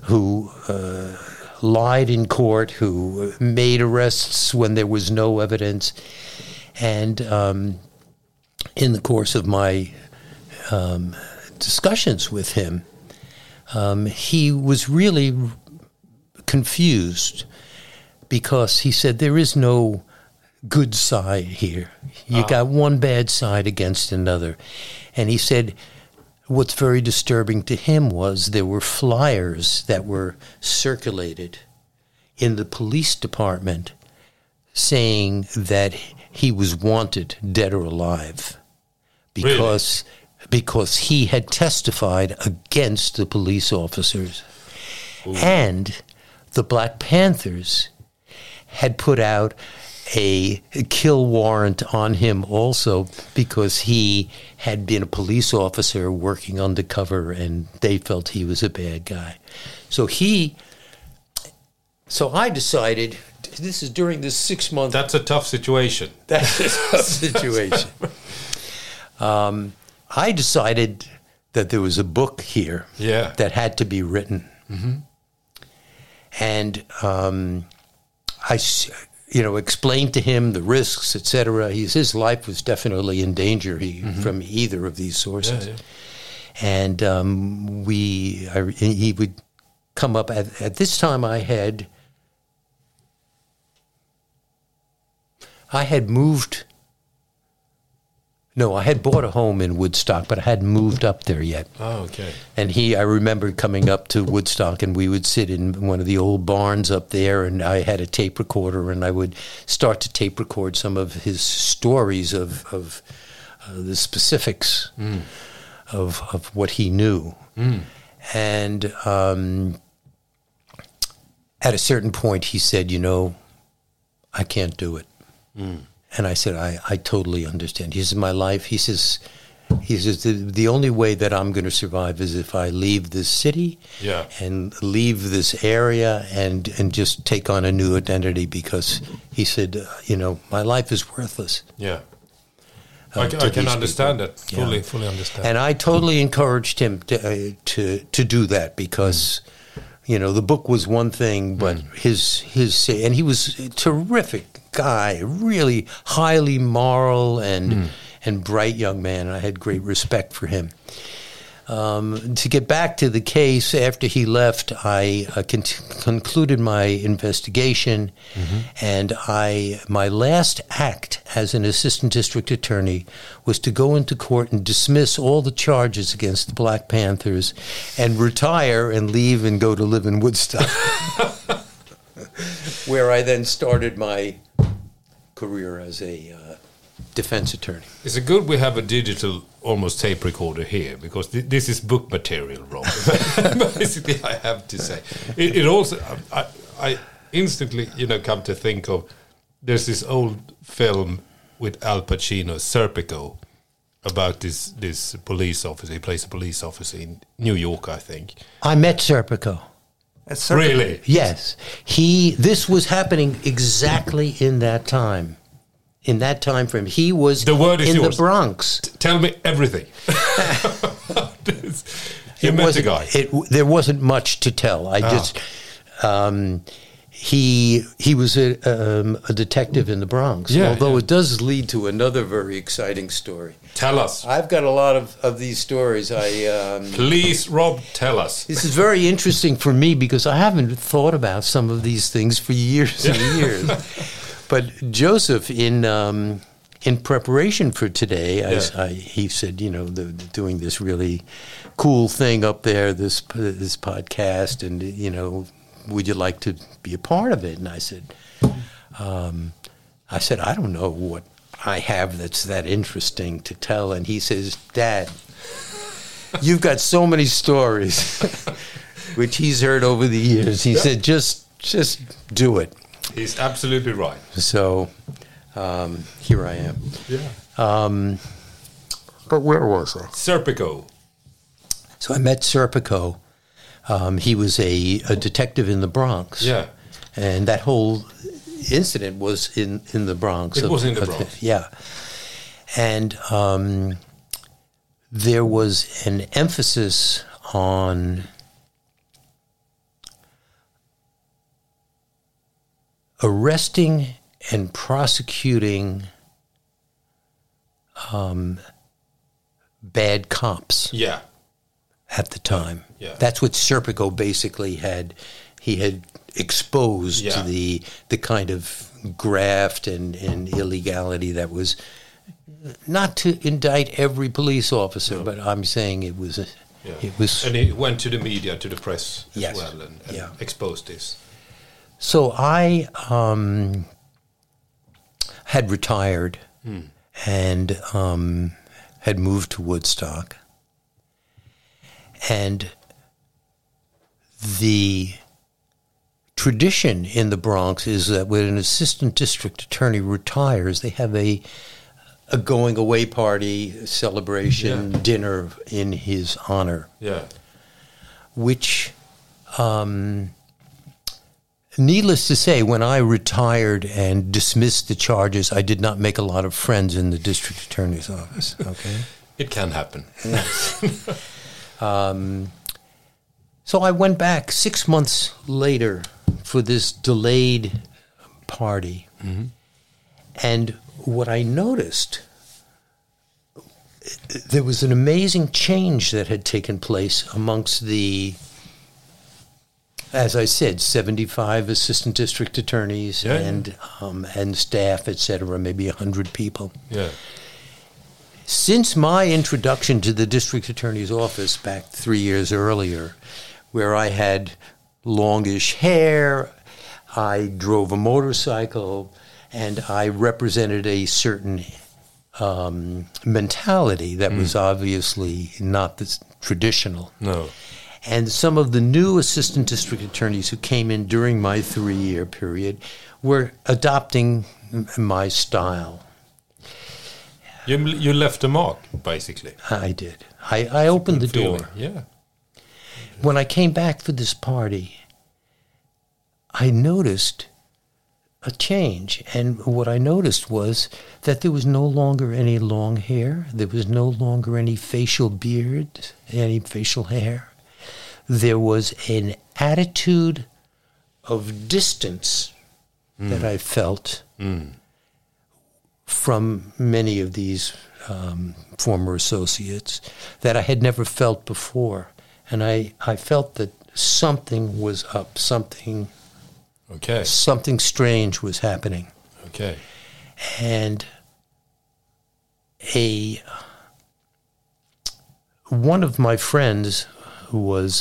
E: lied in court, who made arrests when there was no evidence. And in the course of my discussions with him, he was really confused because he said there is no good side here. You got one bad side against another. And he said what's very disturbing to him was there were flyers that were circulated in the police department saying that he was wanted, dead or alive, because because he had testified against the police officers. And the Black Panthers had put out a kill warrant on him also because he had been a police officer working undercover and they felt he was a bad guy. So I decided, this is during this 6 month...
B: That's a tough situation.
E: That's a tough situation. I decided that there was a book here that had to be written. Mm-hmm. And I explained to him the risks, etc. His life was definitely in danger from either of these sources. Yeah, yeah. And he would come up, at this time I had moved... No, I had bought a home in Woodstock, but I hadn't moved up there yet.
B: Oh, okay.
E: And I remember coming up to Woodstock, and we would sit in one of the old barns up there, and I had a tape recorder, and I would start to tape record some of his stories of the specifics of what he knew. Mm. And at a certain point, he said, I can't do it. Mm. And I said, I totally understand. He says, my life, he says, the only way that I'm going to survive is if I leave this city and leave this area and just take on a new identity, because he said, my life is worthless.
B: Yeah. I can understand that. Fully understand.
E: And I totally encouraged him to do that, because the book was one thing, but his and he was a terrific guy, really highly moral and bright young man, and I had great respect for him. To get back to the case, after he left, I concluded my investigation, and my last act as an assistant district attorney was to go into court and dismiss all the charges against the Black Panthers and retire and leave and go to live in Woodstock, where I then started my career as a defense attorney.
B: Is it good we have a digital, almost tape recorder here, because this is book material, Rob. Basically, I have to say. It also, I instantly, come to think of, there's this old film with Al Pacino, Serpico, about this police officer. He plays a police officer in New York, I think.
E: I met Serpico.
B: Really?
E: Yes. This was happening exactly in that time. In that time frame, he was in the Bronx.
B: Tell me everything. You met the guy.
E: There wasn't much to tell. He was a detective in the Bronx. Although it does lead to another very exciting story.
B: Tell us.
E: I've got a lot of these stories.
B: Please, Rob, tell us.
E: This is very interesting for me because I haven't thought about some of these things for years and years. But Joseph, in preparation for today, he said, they're doing this really cool thing up there, this podcast, and would you like to be a part of it? And I said, I don't know what I have that's that interesting to tell. And he says, Dad, you've got so many stories, which he's heard over the years. He said, just do it.
B: He's absolutely right.
E: So here I am.
B: Yeah.
E: But where was I?
B: Serpico.
E: So I met Serpico. He was a detective in the Bronx.
B: Yeah.
E: And that whole incident was in the Bronx.
B: It was in the Bronx.
E: Yeah. And there was an emphasis on arresting and prosecuting bad cops.
B: Yeah.
E: At the time.
B: Yeah.
E: That's what Serpico basically had. He had exposed the kind of graft and illegality that was, not to indict every police officer, but I'm saying it was. It was.
B: And he went to the media, to the press as well, and exposed this.
E: So I had retired and had moved to Woodstock. And the tradition in the Bronx is that when an assistant district attorney retires, they have a going away party, celebration, dinner in his honor.
B: Yeah.
E: Which, needless to say, when I retired and dismissed the charges, I did not make a lot of friends in the district attorney's office. Okay.
B: It can happen.
E: So I went back 6 months later for this delayed party. Mm-hmm. And what I noticed, there was an amazing change that had taken place amongst the, as I said, 75 assistant district attorneys and staff, et cetera, maybe 100 people.
B: Yeah.
E: Since my introduction to the district attorney's office back 3 years earlier, where I had longish hair, I drove a motorcycle, and I represented a certain mentality that was obviously not the traditional.
B: No.
E: And some of the new assistant district attorneys who came in during my 3-year period were adopting my style.
B: You left a mark, basically.
E: I did. I opened the door.
B: Yeah.
E: When I came back for this party, I noticed a change. And what I noticed was that there was no longer any long hair. There was no longer any facial beard, any facial hair. There was an attitude of distance that I felt from many of these former associates that I had never felt before. And I felt that something was up, something strange was happening.
B: Okay.
E: And one of my friends who was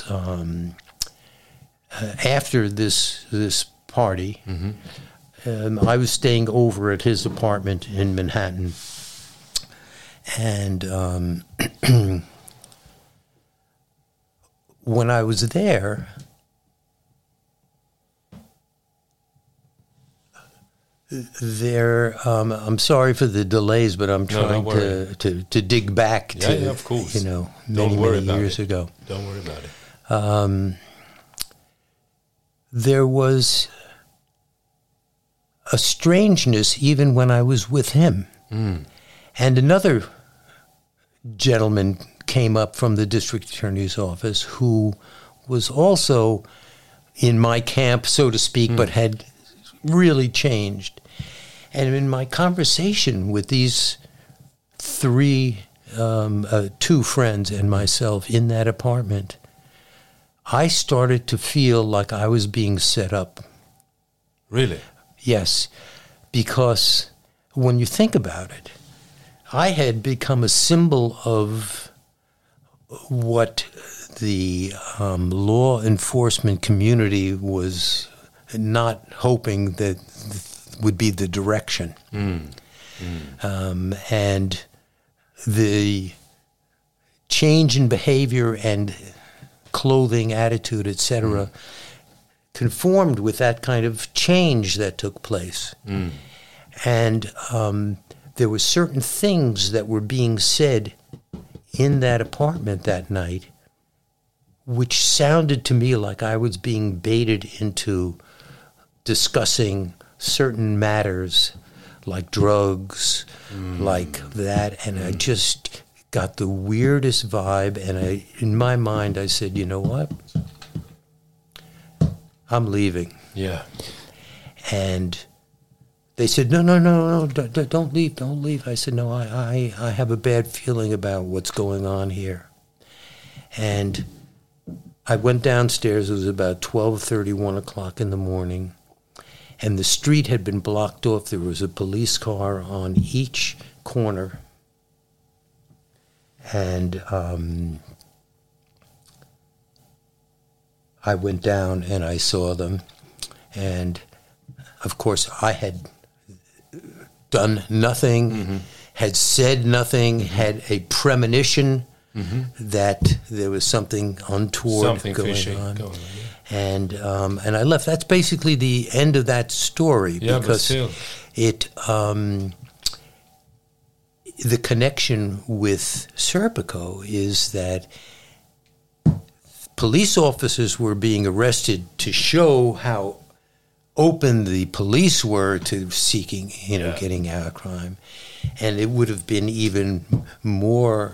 E: after this party, I was staying over at his apartment in Manhattan, and when I was there, I'm sorry for the delays, but I'm trying to dig back to,
B: of course.
E: many years ago.
B: Don't worry about it.
E: There was a strangeness even when I was with him. And another gentleman came up from the district attorney's office who was also in my camp, so to speak, but had really changed. And in my conversation with these two friends and myself in that apartment, I started to feel like I was being set up.
B: Really?
E: Yes, because when you think about it, I had become a symbol of what the law enforcement community was not hoping that would be the direction. And the change in behavior and clothing, attitude, etc., conformed with that kind of change that took place. And there were certain things that were being said in that apartment that night which sounded to me like I was being baited into discussing certain matters like drugs, like that, and I just got the weirdest vibe, and in my mind I said, you know what? I'm leaving.
B: Yeah.
E: And they said, no, don't leave. I said, no, I have a bad feeling about what's going on here. And I went downstairs. It was about 12:30, 1 o'clock in the morning, and the street had been blocked off. There was a police car on each corner. And I went down and I saw them. And, of course, I had done nothing, had said nothing, had a premonition that there was something untoward going on. And I left. That's basically the end of that story, because it the connection with Serpico is that police officers were being arrested to show how open the police were to seeking, getting out of crime. And it would have been even more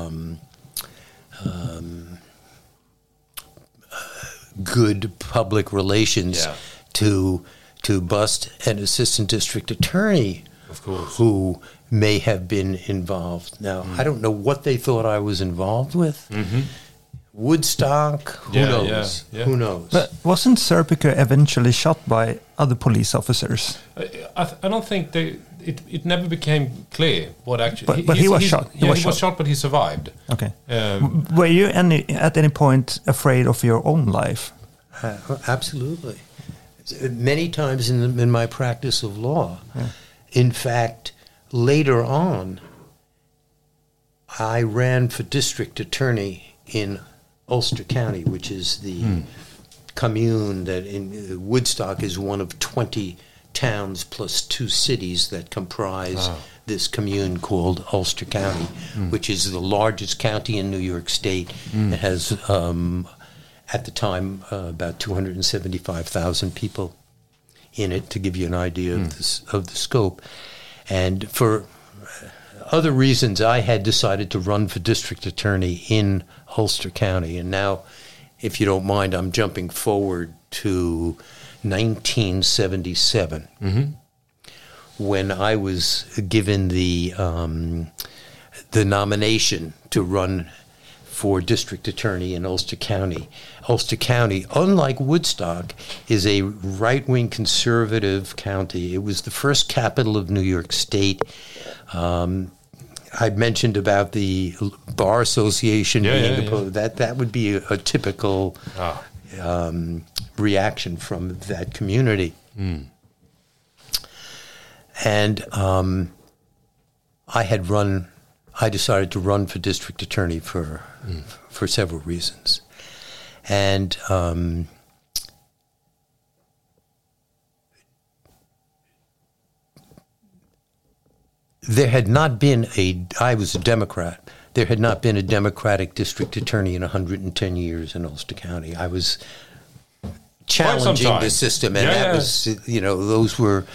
E: good public relations to bust an assistant district attorney,
B: of course,
E: who may have been involved. Now, I don't know what they thought I was involved with. Woodstock, who knows?
B: Yeah.
E: Who knows?
C: But wasn't Serpico eventually shot by other police officers?
B: I don't think it never became clear what actually.
C: But he was shot.
B: He was shot, but he survived.
C: Okay. Were you at any point afraid of your own life?
E: Absolutely. Many times in my practice of law. Yeah. In fact, later on, I ran for district attorney in Ulster County, which is the commune that in Woodstock is one of 20 towns plus 2 cities that comprise this commune called Ulster County, which is the largest county in New York State. It has, at the time, about 275,000 people in it, to give you an idea of the scope. And for other reasons, I had decided to run for district attorney in Ulster County. And now, if you don't mind, I'm jumping forward to 1977, when I was given the nomination to run for district attorney in Ulster County. Ulster County, unlike Woodstock, is a right-wing conservative county. It was the first capital of New York State. I mentioned about the Bar Association being opposed. That would be a typical reaction from that community. And I decided to run for district attorney for several reasons. And there had not been I was a Democrat. There had not been a Democratic district attorney in 110 years in Ulster County. I was challenging the system, and that was, those were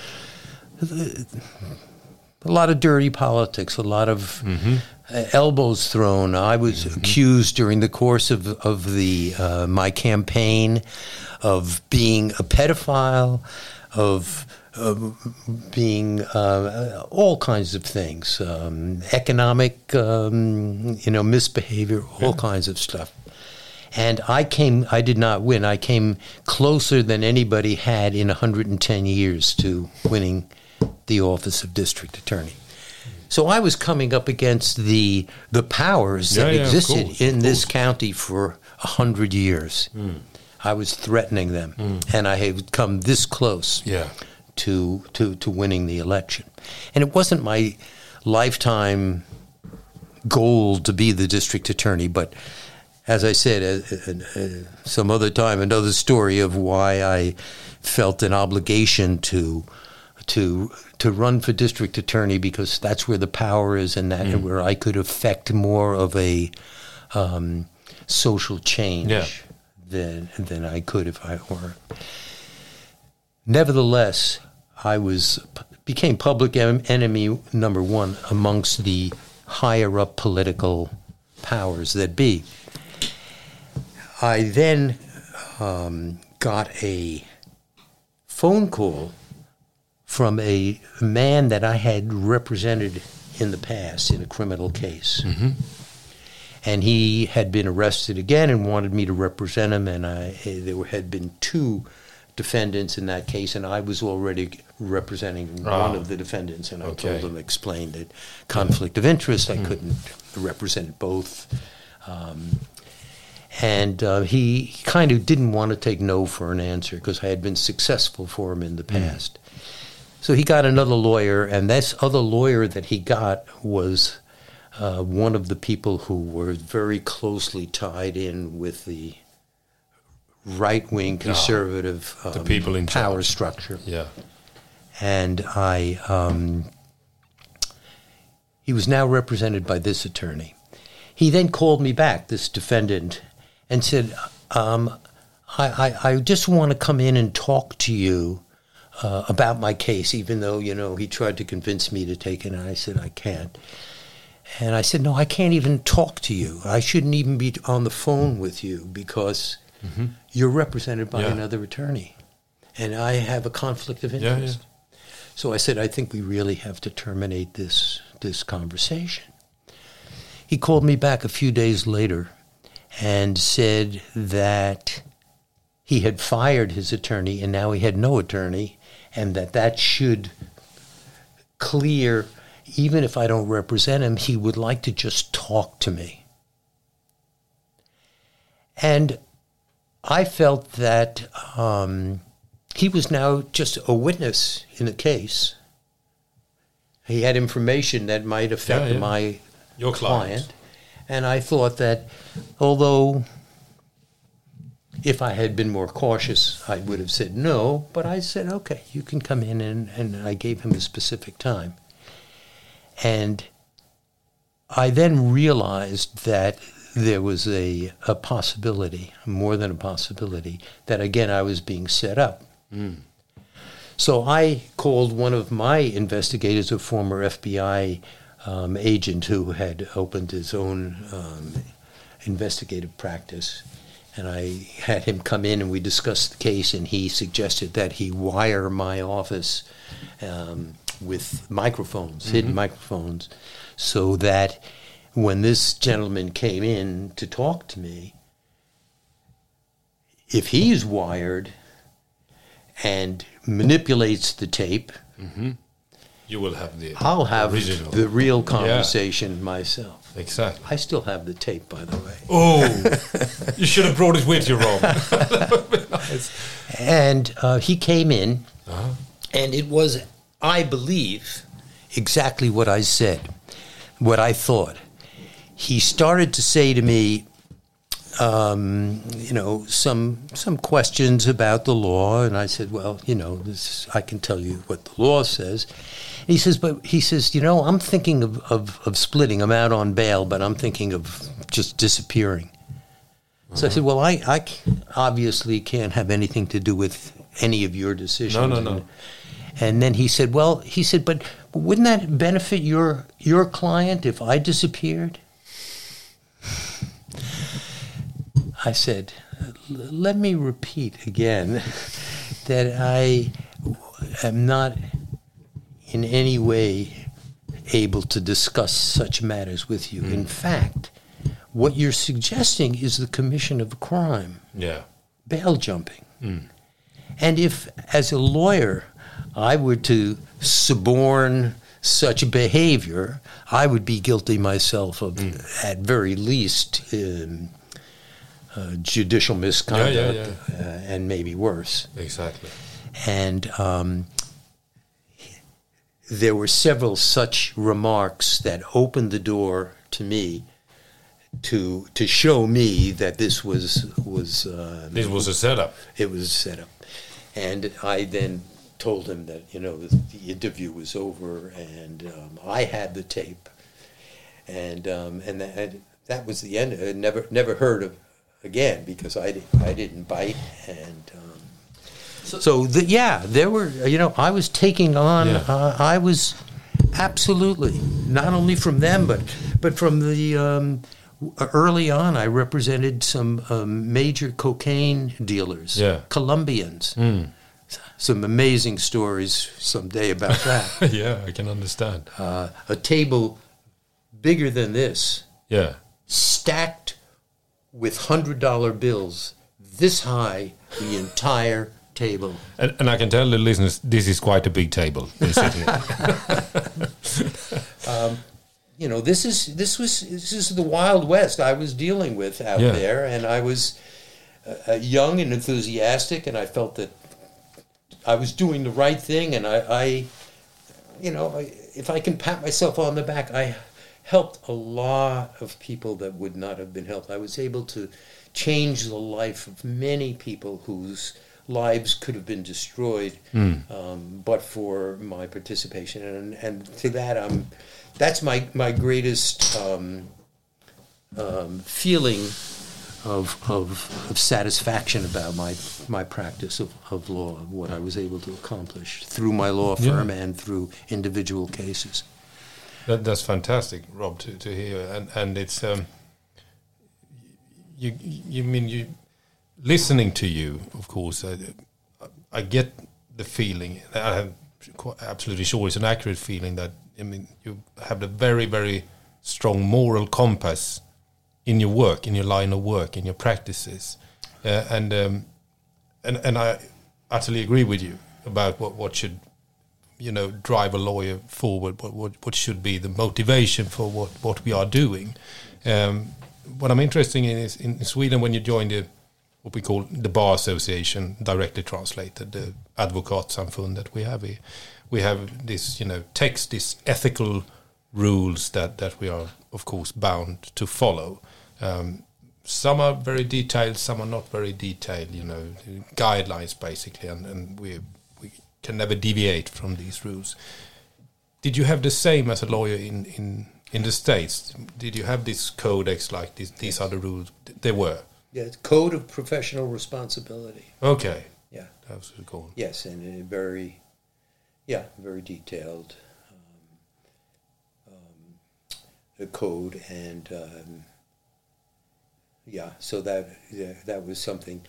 E: a lot of dirty politics, a lot of elbows thrown. I was accused during the course of my campaign of being a pedophile, of being all kinds of things, economic, misbehavior, all kinds of stuff. And I did not win. I came closer than anybody had in 110 years to winning the office of district attorney. So I was coming up against the powers that existed in this county for 100 years. I was threatening them, and I had come this close to winning the election. And it wasn't my lifetime goal to be the district attorney, but as I said, some other time, another story of why I felt an obligation to run for district attorney, because that's where the power is, and that where I could affect more of a social change than I could if I were. Nevertheless, I became public enemy number one amongst the higher up political powers that be. I then got a phone call from a man that I had represented in the past in a criminal case. And he had been arrested again and wanted me to represent him, and there had been 2 defendants in that case, and I was already representing one of the defendants, and I told him, explained that conflict of interest, I couldn't represent both. And he kind of didn't want to take no for an answer, because I had been successful for him in the past. So he got another lawyer, and this other lawyer that he got was one of the people who were very closely tied in with the right-wing conservative
B: the people in
E: power
B: charge.
E: structure.
B: Yeah.
E: And he was now represented by this attorney. He then called me back, this defendant, and said, I just want to come in and talk to you about my case, even though, he tried to convince me to take it, and I said, I can't. And I said, no, I can't even talk to you. I shouldn't even be on the phone with you because you're represented by another attorney, and I have a conflict of interest. Yeah. So I said, I think we really have to terminate this conversation. He called me back a few days later and said that he had fired his attorney and now he had no attorney, and that should clear. Even if I don't represent him, he would like to just talk to me. And I felt that he was now just a witness in a case. He had information that might affect
B: your client.
E: And I thought that although if I had been more cautious, I would have said no, but I said, okay, you can come in, and I gave him a specific time. And I then realized that there was a possibility, more than a possibility, that again I was being set up. So I called one of my investigators, a former FBI agent who had opened his own investigative practice, and I had him come in and we discussed the case, and he suggested that he wire my office with microphones, hidden microphones, so that when this gentleman came in to talk to me, if he's wired and manipulates the tape,
B: you will have the
E: I'll have
B: original.
E: the real conversation myself.
B: Exactly.
E: I still have the tape, by the way.
B: Oh, you should have brought it with you, Rob. Nice.
E: And he came in, and it was, I believe, exactly what I said, what I thought. He started to say to me, some questions about the law, and I said, well, I can tell you what the law says. And he says, I'm thinking of splitting. I'm out on bail, but I'm thinking of just disappearing. So I said, well, I obviously can't have anything to do with any of your decisions.
B: No.
E: And then he said, but wouldn't that benefit your client if I disappeared? I said, let me repeat again that I am not in any way able to discuss such matters with you. In fact, what you're suggesting is the commission of a crime.
B: Yeah.
E: Bail jumping. And if, as a lawyer, I were to suborn such behavior, I would be guilty myself of, at very least, judicial misconduct, and maybe worse.
B: Exactly.
E: And there were several such remarks that opened the door to me to show me that this was
B: this was a setup.
E: It was a setup. And I then told him that the interview was over, and I had the tape, and that was the end. I never heard of again because I didn't bite, and there were I was taking on. I was absolutely not only from them but from the early on. I represented some major cocaine dealers, Colombians. Some amazing stories someday about that.
B: Yeah, I can understand.
E: A table bigger than this, stacked with $100 bills, this high, the entire table.
B: And I can tell the listeners, this is quite a big table we're sitting at.
E: This is the Wild West I was dealing with out there, and I was young and enthusiastic, and I felt that I was doing the right thing, and if I can pat myself on the back, I helped a lot of people that would not have been helped. I was able to change the life of many people whose lives could have been destroyed, but for my participation. And to that, that's my greatest feeling of satisfaction about my practice of law, what I was able to accomplish through my law firm and through individual cases.
B: That's fantastic, Rob, to hear. And it's you listening to you, of course. I get the feeling. I'm absolutely sure it's an accurate feeling that you have a very, very strong moral compass in your work, in your line of work, in your practices, and I utterly agree with you about what should drive a lawyer forward. What should be the motivation for what we are doing. What I'm interested in is in Sweden, when you join what we call the Bar Association, directly translated, the Advokatsamfund that we have here. We have this text, these ethical rules that we are, of course, bound to follow. Some are very detailed, some are not very detailed, guidelines basically, and we can never deviate from these rules. Did you have the same as a lawyer in the States? Did you have this codex like this? These are the rules. They were.
E: Yeah, it's Code of Professional Responsibility.
B: Okay.
E: Yeah.
B: That was cool.
E: Yes, and very detailed code, and so that was something.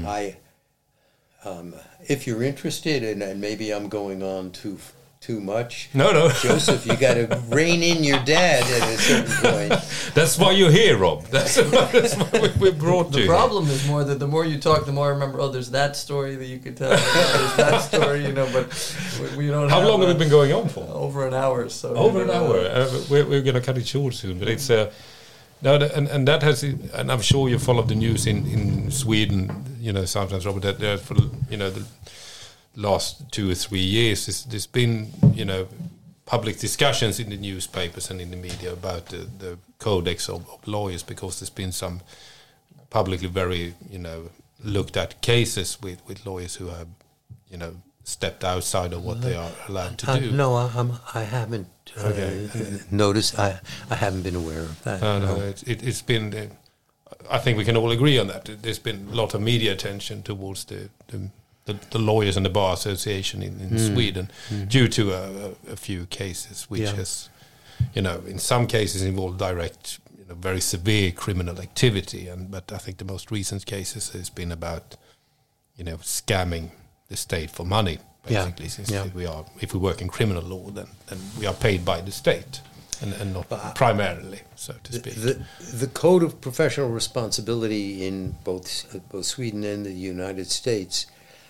E: If you're interested, and maybe I'm going on too much.
B: No.
E: Joseph, you got to rein in your dad at a certain point.
B: That's why you're here, Rob. That's why we brought you.
D: The problem is more that the more you talk, the more I remember, there's that story that you could tell. There's that story, but we don't
B: How long have it been going on for?
D: Over an hour. So
B: over an hour. We're going to cut it short soon, but it's... and that has, and I'm sure you followed the news in Sweden, sometimes, Robert, that for, the last 2 or 3 years, there's been, public discussions in the newspapers and in the media about the codex of lawyers, because there's been some publicly very, looked at cases with lawyers who have, stepped outside of what they are allowed to do.
E: No, I haven't noticed. I haven't been aware of that.
B: No. It's been. I think we can all agree on that. There's been a lot of media attention towards the lawyers and the Bar Association in Sweden due to a few cases, which has, in some cases involved direct, very severe criminal activity. But I think the most recent cases has been about, scamming the state for money, basically. Since if we work in criminal law, then we are paid by the state and not primarily, so to speak.
E: The Code of Professional Responsibility in both Sweden and the United States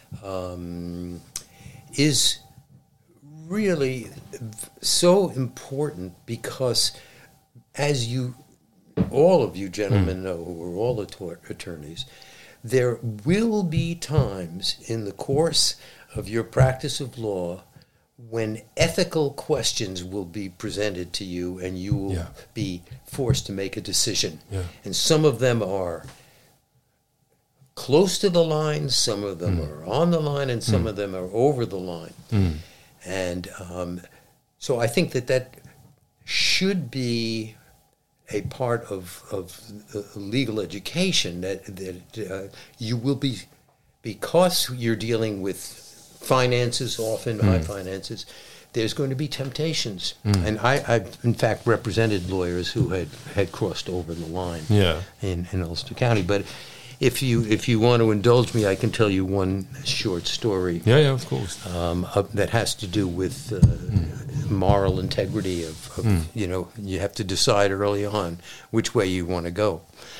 E: is really so important, because as all of you gentlemen know, who are all attorneys, there will be times in the course of your practice of law when ethical questions will be presented to you, and you will be forced to make a decision. Yeah. And some of them are close to the line, some of them are on the line, and some of them are over the line. And so I think that should be a part of legal education, that you will be, because you're dealing with finances, often high finances, there's going to be temptations. And I've in fact represented lawyers who had crossed over the line in Ulster County. But if you want to indulge me, I can tell you one short story.
B: Yeah, of course.
E: That has to do with moral integrity of you have to decide early on which way you want to go.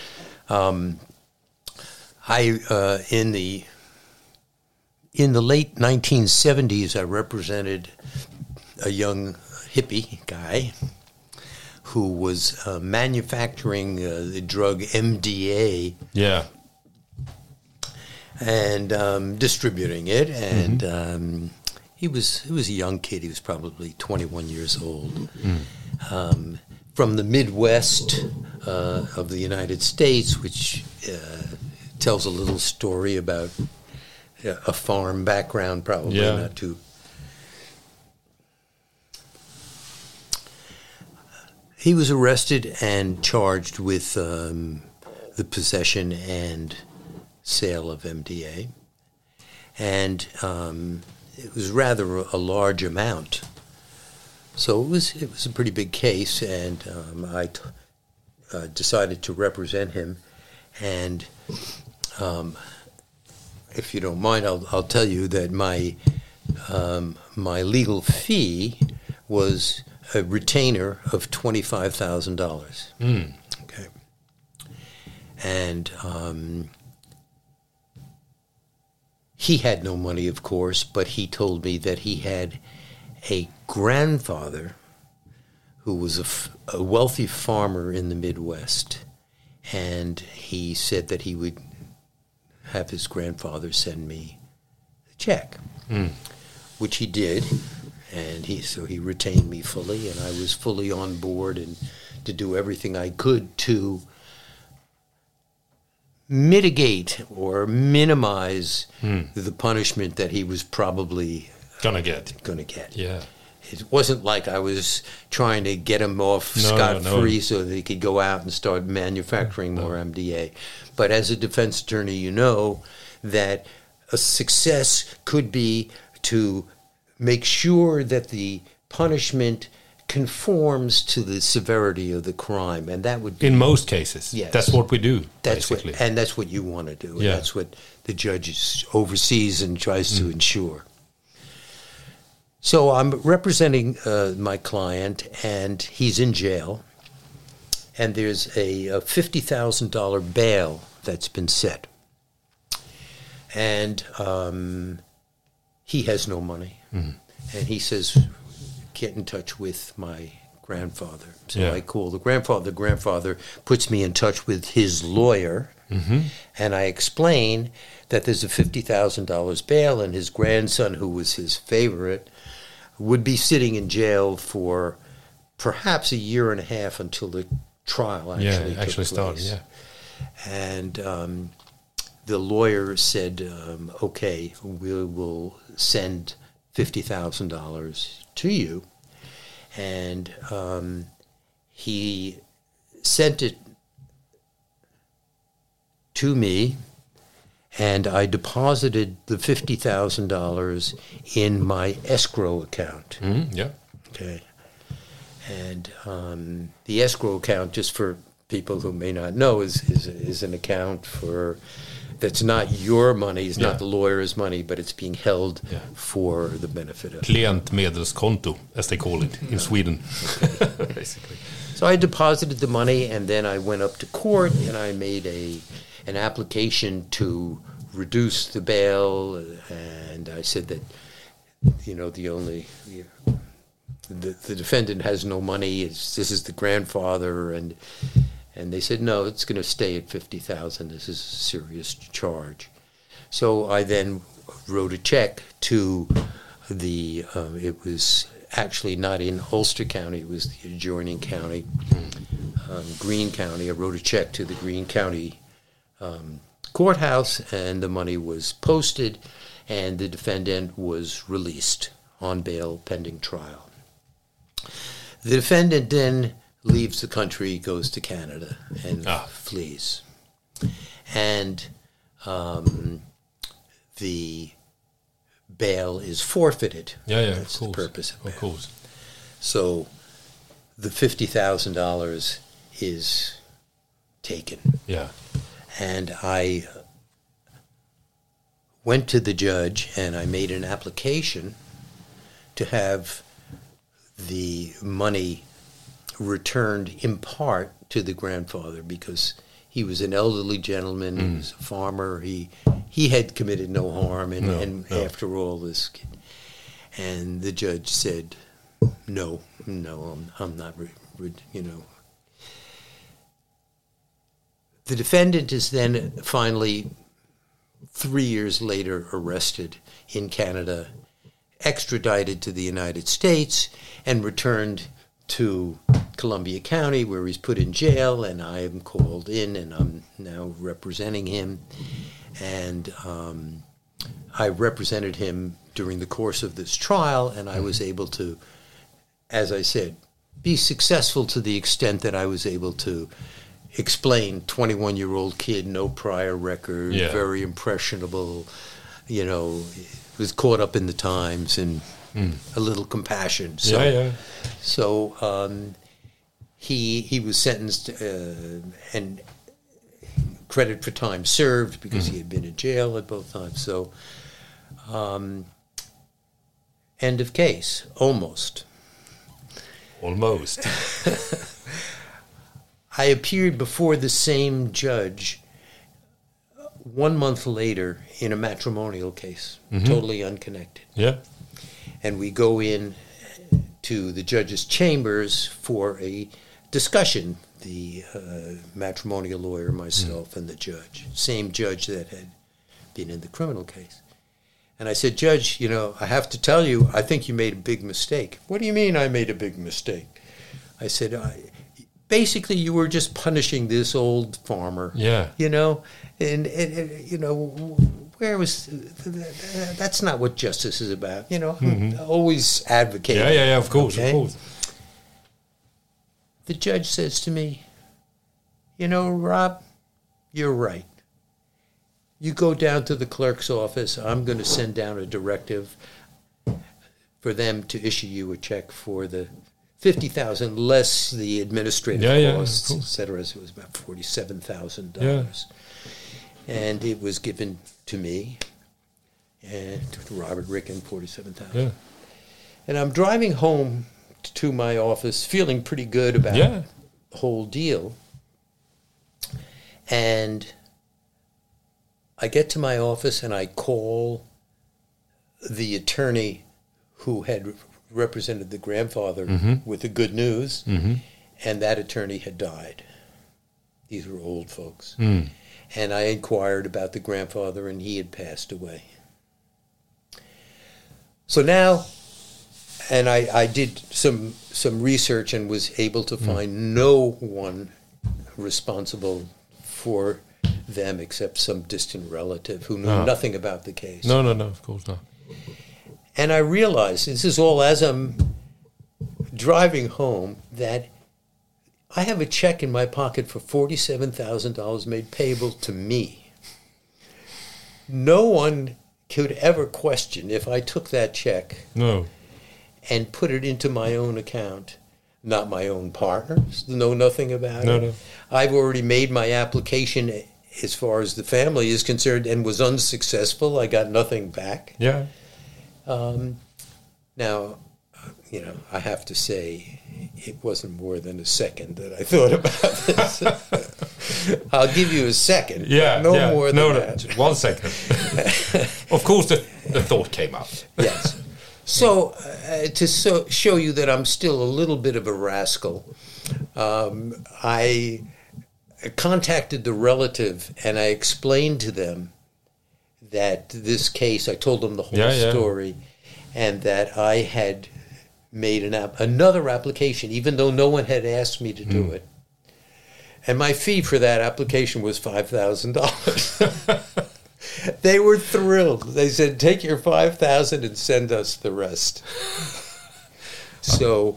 E: In the late 1970s, I represented a young hippie guy who was manufacturing the drug MDA.
B: Yeah.
E: and distributing it. And he was a young kid. He was probably 21 years old. From the Midwest of the United States, which tells a little story about a farm background, probably not too. He was arrested and charged with the possession and sale of MDA, and it was rather a large amount. So it was a pretty big case, and I decided to represent him. And if you don't mind, I'll tell you that my legal fee was a retainer of $25,000. Okay, and he had no money, of course, but he told me that he had a grandfather who was a wealthy farmer in the Midwest, and he said that he would have his grandfather send me a check, which he did, and he retained me fully, and I was fully on board and to do everything I could to mitigate or minimize the punishment that he was probably gonna get.
B: Yeah.
E: It wasn't like I was trying to get him off scot-free so that he could go out and start manufacturing more MDA. But as a defense attorney, you know that a success could be to make sure that the punishment conforms to the severity of the crime, and that would be
B: in most cases.
E: Yes.
B: That's what we do.
E: That's
B: basically.
E: that's what you want to do.
B: Yeah.
E: And that's what the judge oversees and tries to ensure. So I'm representing my client, and he's in jail, and there's a $50,000 bail that's been set. And he has no money. And he says, get in touch with my grandfather. So I call the grandfather. The grandfather puts me in touch with his lawyer, and I explain that there's a $50,000 bail, and his grandson, who was his favorite, would be sitting in jail for perhaps a year and a half until the trial actually took place.
B: started.
E: And the lawyer said, okay, we will send $50,000 to you. And he sent it to me, and I deposited the $50,000 in my escrow account. Okay. And the escrow account, just for people who may not know, is an account that's not your money, it's not the lawyer's money, but it's being held for the benefit of
B: Klientmedelskonto, as they call it in Sweden. Basically.
E: So I deposited the money, and then I went up to court, and I made an application to reduce the bail, and I said that, the defendant has no money. This is the grandfather, and they said, no, it's going to stay at $50,000. This is a serious charge. So I then wrote a check to it was actually not in Ulster County, it was the adjoining county, Greene County. I wrote a check to the Greene County courthouse, and the money was posted, and the defendant was released on bail pending trial. The defendant then leaves the country, goes to Canada, and flees. And the bail is forfeited. That's the purpose of bail.
B: Of course.
E: So the $50,000 is taken.
B: Yeah.
E: And I went to the judge, and I made an application to have the money returned in part to the grandfather, because he was an elderly gentleman, he was a farmer, he had committed no harm, and after all this, and the judge said, no, I'm not, The defendant is then finally 3 years later arrested in Canada, extradited to the United States, and returned to Columbia County, where he's put in jail, and I am called in, and I'm now representing him. And I represented him during the course of this trial, and I was able to, as I said, be successful to the extent that I was able to explain 21-year-old kid, no prior record, very impressionable, was caught up in the times and a little compassion. So, he was sentenced and credit for time served because he had been in jail at both times. So, end of case, almost.
B: Almost.
E: I appeared before the same judge 1 month later in a matrimonial case, totally unconnected.
B: Yeah.
E: And we go in to the judge's chambers for a discussion, the matrimonial lawyer, myself, and the judge, same judge that had been in the criminal case. And I said, Judge, I have to tell you, I think you made a big mistake. What do you mean I made a big mistake? I said, basically you were just punishing this old farmer.
B: Yeah.
E: And where was, that's not what justice is about. Always advocating.
B: Yeah, of course,
E: okay?
B: of course.
E: The judge says to me, Rob, you're right. You go down to the clerk's office. I'm going to send down a directive for them to issue you a check for the $50,000 less the administrative costs, et cetera. So it was about $47,000.
B: Yeah.
E: And it was given to me and to Robert Ricken, $47,000.
B: Yeah.
E: And I'm driving home to my office feeling pretty good about the whole deal. And I get to my office and I call the attorney who had represented the grandfather with the good news, and that attorney had died. These were old folks. And I inquired about the grandfather, and he had passed away. So now, and I did some research and was able to find no one responsible for them except some distant relative who knew nothing about the case.
B: No, of course not.
E: And I realized, this is all as I'm driving home, that I have a check in my pocket for $47,000 made payable to me. No one could ever question if I took that check and put it into my own account. Not my own partners, know nothing about it. No. I've already made my application as far as the family is concerned and was unsuccessful. I got nothing back.
B: Yeah.
E: Now, I have to say, it wasn't more than a second that I thought about this. I'll give you a second.
B: Yeah.
E: More than that.
B: 1 second. Of course, the thought came up.
E: Yes. So, to show you that I'm still a little bit of a rascal, I contacted the relative and I explained to them that this case, I told them the whole story, and that I had made another application, even though no one had asked me to do it. And my fee for that application was $5,000. They were thrilled. They said, take your $5,000 and send us the rest. So,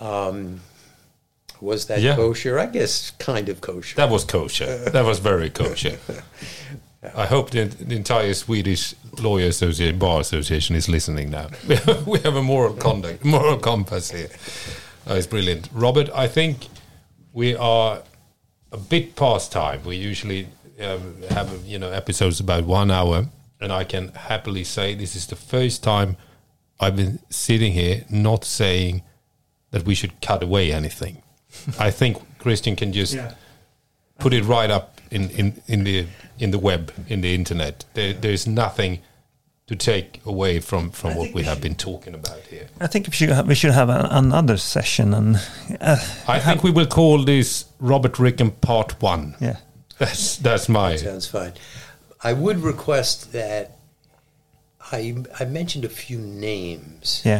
E: was that kosher? I guess kind of kosher.
B: That was kosher. That was very kosher. I hope the entire Swedish Lawyer Association, Bar Association is listening now. We have a moral compass here. It's brilliant. Robert, I think we are a bit past time. We usually have episodes about 1 hour, and I can happily say this is the first time I've been sitting here not saying that we should cut away anything. I think Christian can just put it right up in the web, in the internet. There's nothing to take away from what we have been talking about here.
C: I think we should have another session, and
B: I think we will call this Robert Ricken Part 1.
C: Yeah,
B: that's my.
E: Sounds fine. I would request that I mentioned a few names.
C: Yeah.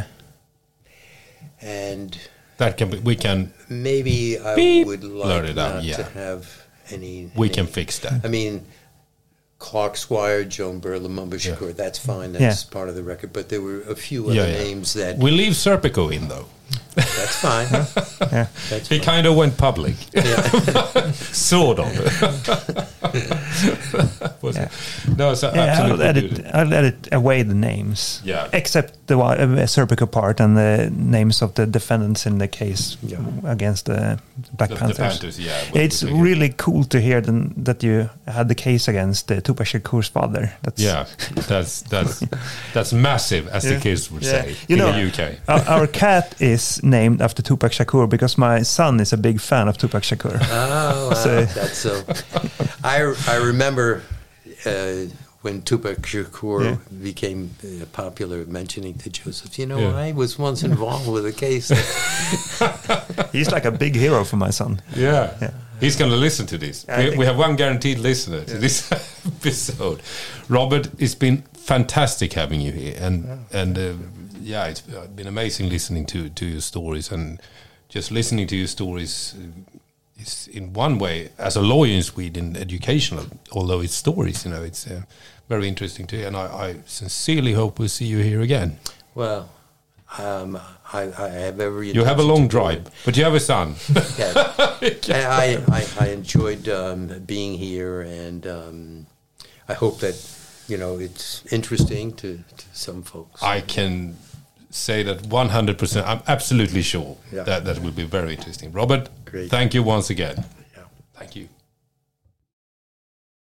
E: And
B: That can be, we can
E: maybe I
B: Beep.
E: would
B: Blurt
E: like
B: it out,
E: not
B: yeah.
E: to have any.
B: we can fix that.
E: I mean, Clark Squire, Joan Burla, Mumba Shakur, that's fine. That's
C: Yeah.
E: part of the record. But there were a few other names that...
B: We leave Serpico in though.
E: That's fine.
C: Yeah.
E: That's
B: He
E: fine.
B: kind of went public,
E: Yeah.
B: sort of. Was
C: Yeah.
B: it? No, so
C: Yeah,
B: absolutely.
C: I'll edit away the names.
B: Yeah.
C: Except the Serpico part and the names of the defendants in the case
E: Yeah.
C: against the Black
B: The
C: Panthers.
B: Panthers, yeah. we'll
C: It's
B: take it.
C: really cool to hear that you had the case against Tupac Shakur's father. That's,
B: Yeah, that's massive, as the
C: Yeah.
B: kids would
C: Yeah.
B: say
C: You
B: in
C: know,
B: the UK.
C: Our cat is named after Tupac Shakur because my son is a big fan of Tupac Shakur.
E: Oh, wow.
C: So-
E: That's so... I remember when Tupac Shakur became popular, mentioning to Joseph,
B: Yeah.
E: I was once involved with a case.
C: He's like a big hero for my son.
B: Yeah.
C: Yeah.
B: He's going to listen to this.
C: I think-
B: We have one guaranteed listener to this episode. Robert, it's been fantastic having you here, and it's been amazing listening to your stories, and just listening to your stories is in one way, as a lawyer in Sweden, educational. Although it's stories, it's very interesting to hear, and I sincerely hope we'll see you here again.
E: Well, I have every...
B: You have a
E: intention
B: long
E: to do
B: drive,
E: it.
B: but you have a son.
E: Yeah. I enjoyed being here, and I hope that it's interesting to some folks.
B: I can say that 100%. I'm absolutely sure
E: Yeah.
B: that will be very interesting. Robert,
E: Great.
B: thank you once again.
E: Yeah.
B: Thank you.